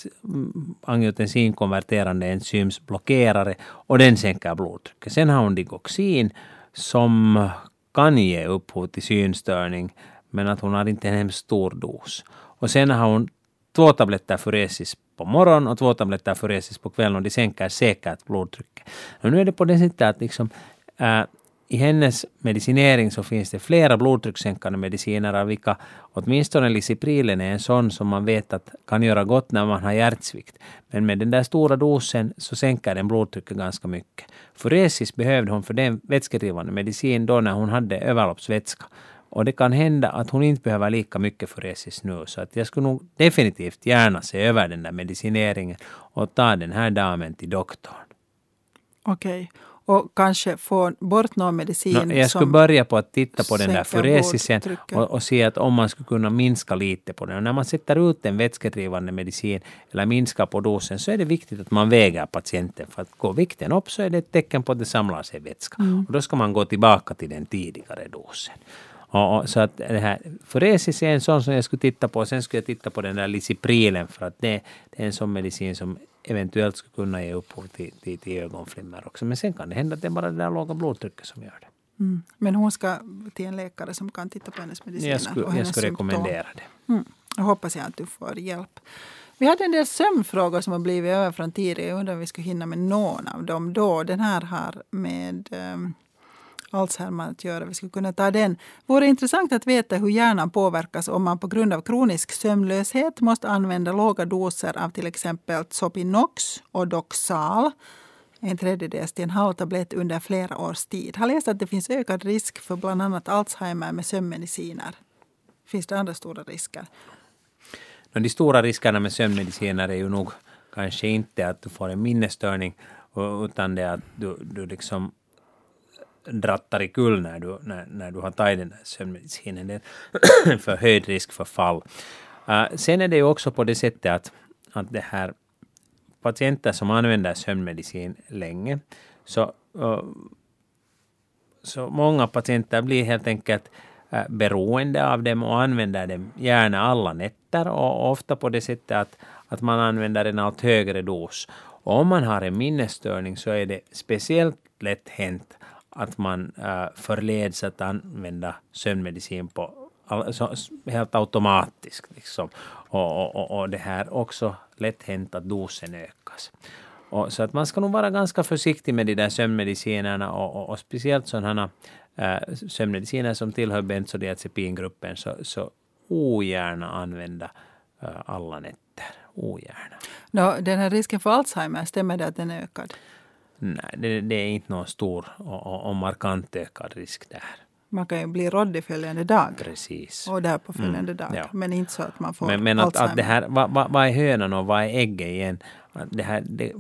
angiotensinkonverterande enzymsblockerare och den sänker blodtrycket. Sen har hon Digoxin som kan ge upphov till synstörning men att hon har inte en hemskt stor dos. Och sen har hon två tabletter Furesis på morgon och två tabletter Furesis på kvällen och de sänker säkert blodtrycket. Och nu är det på det sättet att liksom, äh, i hennes medicinering så finns det flera blodtryckssänkande mediciner av vilka åtminstone Lisiprilen är en sån som man vet att kan göra gott när man har hjärtsvikt. Men med den där stora dosen så sänker den blodtrycket ganska mycket. Furesis behövde hon för den vätskedrivande medicin då när hon hade överloppsvätska. Och det kan hända att hon inte behöver lika mycket Furesis nu. Så att jag skulle nog definitivt gärna se över den där medicineringen och ta den här damen till doktorn. Okej. Okay. Och kanske få bort någon medicin no, jag skulle börja på att titta på den där furesisen och, och se att om man skulle kunna minska lite på den. Och när man sätter ut en vätskedrivande medicin eller minskar på dosen så är det viktigt att man väger patienten. För att gå vikten upp så är det ett tecken på att det samlar sig vätska. Mm. Och då ska man gå tillbaka till den tidigare dosen. Och, och, så att det här furesis är en sån som jag skulle titta på. Sen skulle jag titta på den där Lisiprilen för att det, det är en sån medicin som eventuellt skulle kunna ge upphov till, till, till ögonflimmer också. Men sen kan det hända att det är bara det där låga blodtrycket som gör det. Mm. Men hon ska till en läkare som kan titta på hennes mediciner. Jag skulle, och hennes jag skulle rekommendera det. Mm. Jag hoppas jag att du får hjälp. Vi hade en del sömnfrågor som har blivit över från tidigare. Jag undrar om vi skulle hinna med någon av dem då. Den här har med um, Alzheimer att göra. Vi skulle kunna ta den. Vore intressant att veta hur hjärnan påverkas om man på grund av kronisk sömnlöshet måste använda låga doser av till exempel Zopinox och Doxal, en tredjedels till en halv tablett under flera års tid. Har läst att det finns ökad risk för bland annat Alzheimer med sömnmediciner. Finns det andra stora risker? De stora riskerna med sömnmediciner är ju nog kanske inte att du får en minnesstörning, utan det att du, du liksom drattar i kull när du, när, när du har tagit den här sömnmedicinen. Det är en förhöjd risk för fall. Uh, sen är det ju också på det sättet att, att det här patienter som använder sömnmedicin länge, så, uh, så många patienter blir helt enkelt uh, beroende av dem och använder dem gärna alla nätter, och ofta på det sättet att, att man använder en allt högre dos. Och om man har en minnesstörning så är det speciellt lätt hänt att man uh, förleds att använda sömnmedicin på alltså, helt automatiskt. Liksom. Och, och, och det här också lätt hänt att dosen ökas. Och, så att man ska nog vara ganska försiktig med de där sömnmedicinerna, och, och, och speciellt sådana uh, sömnmediciner som tillhör benzodiazepingruppen, så, så ogärna använda uh, alla nätter. Ogärna. No, den här risken för Alzheimer, stämmer det att den är ökad? Nej, det, det är inte någon stor och, och, och markant ökad risk där. Man kan ju bli råddig följande dag. Precis. Och där på följande mm, dag. Ja. Men inte så att man får Men, men att, Alzheimer. att det här, vad, vad, vad är hönan och vad är ägget igen? Det här, det,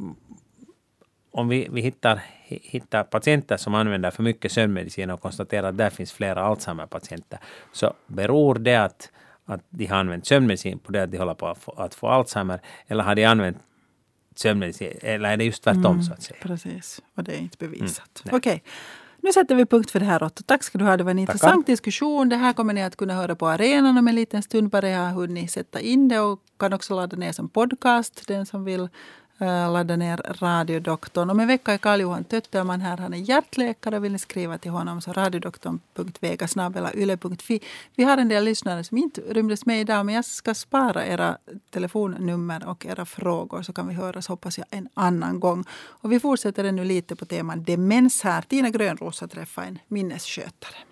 om vi, vi hittar, hittar patienter som använder för mycket sömnmedicin och konstaterar att där finns flera Alzheimer-patienter, så beror det att att de har använt sömnmedicin på det att de håller på att få, att få Alzheimer, eller har de använt sömnmedicin, eller är det just tvärtom mm, så att säga? Precis, och det är inte bevisat. Mm, Okej, nu sätter vi punkt för det här, Otto. Tack ska du ha, det var en Tackar. intressant diskussion. Det här kommer ni att kunna höra på arenan om en liten stund, bara jag har hunnit sätta in det, och kan också ladda ner som podcast, den som vill Uh, ladda ner Radiodoktorn. Om en vecka är Karl-Johan Tötterman här. Han är hjärtläkare. Vill ni skriva till honom så radiodoktorn punkt vega snabel-a yle punkt fi. Vi har en del lyssnare som inte rymdes med idag, men jag ska spara era telefonnummer och era frågor, så kan vi höras, hoppas jag, en annan gång. Och vi fortsätter nu lite på teman demens här. Tina Grönrosa träffar en minnesskötare.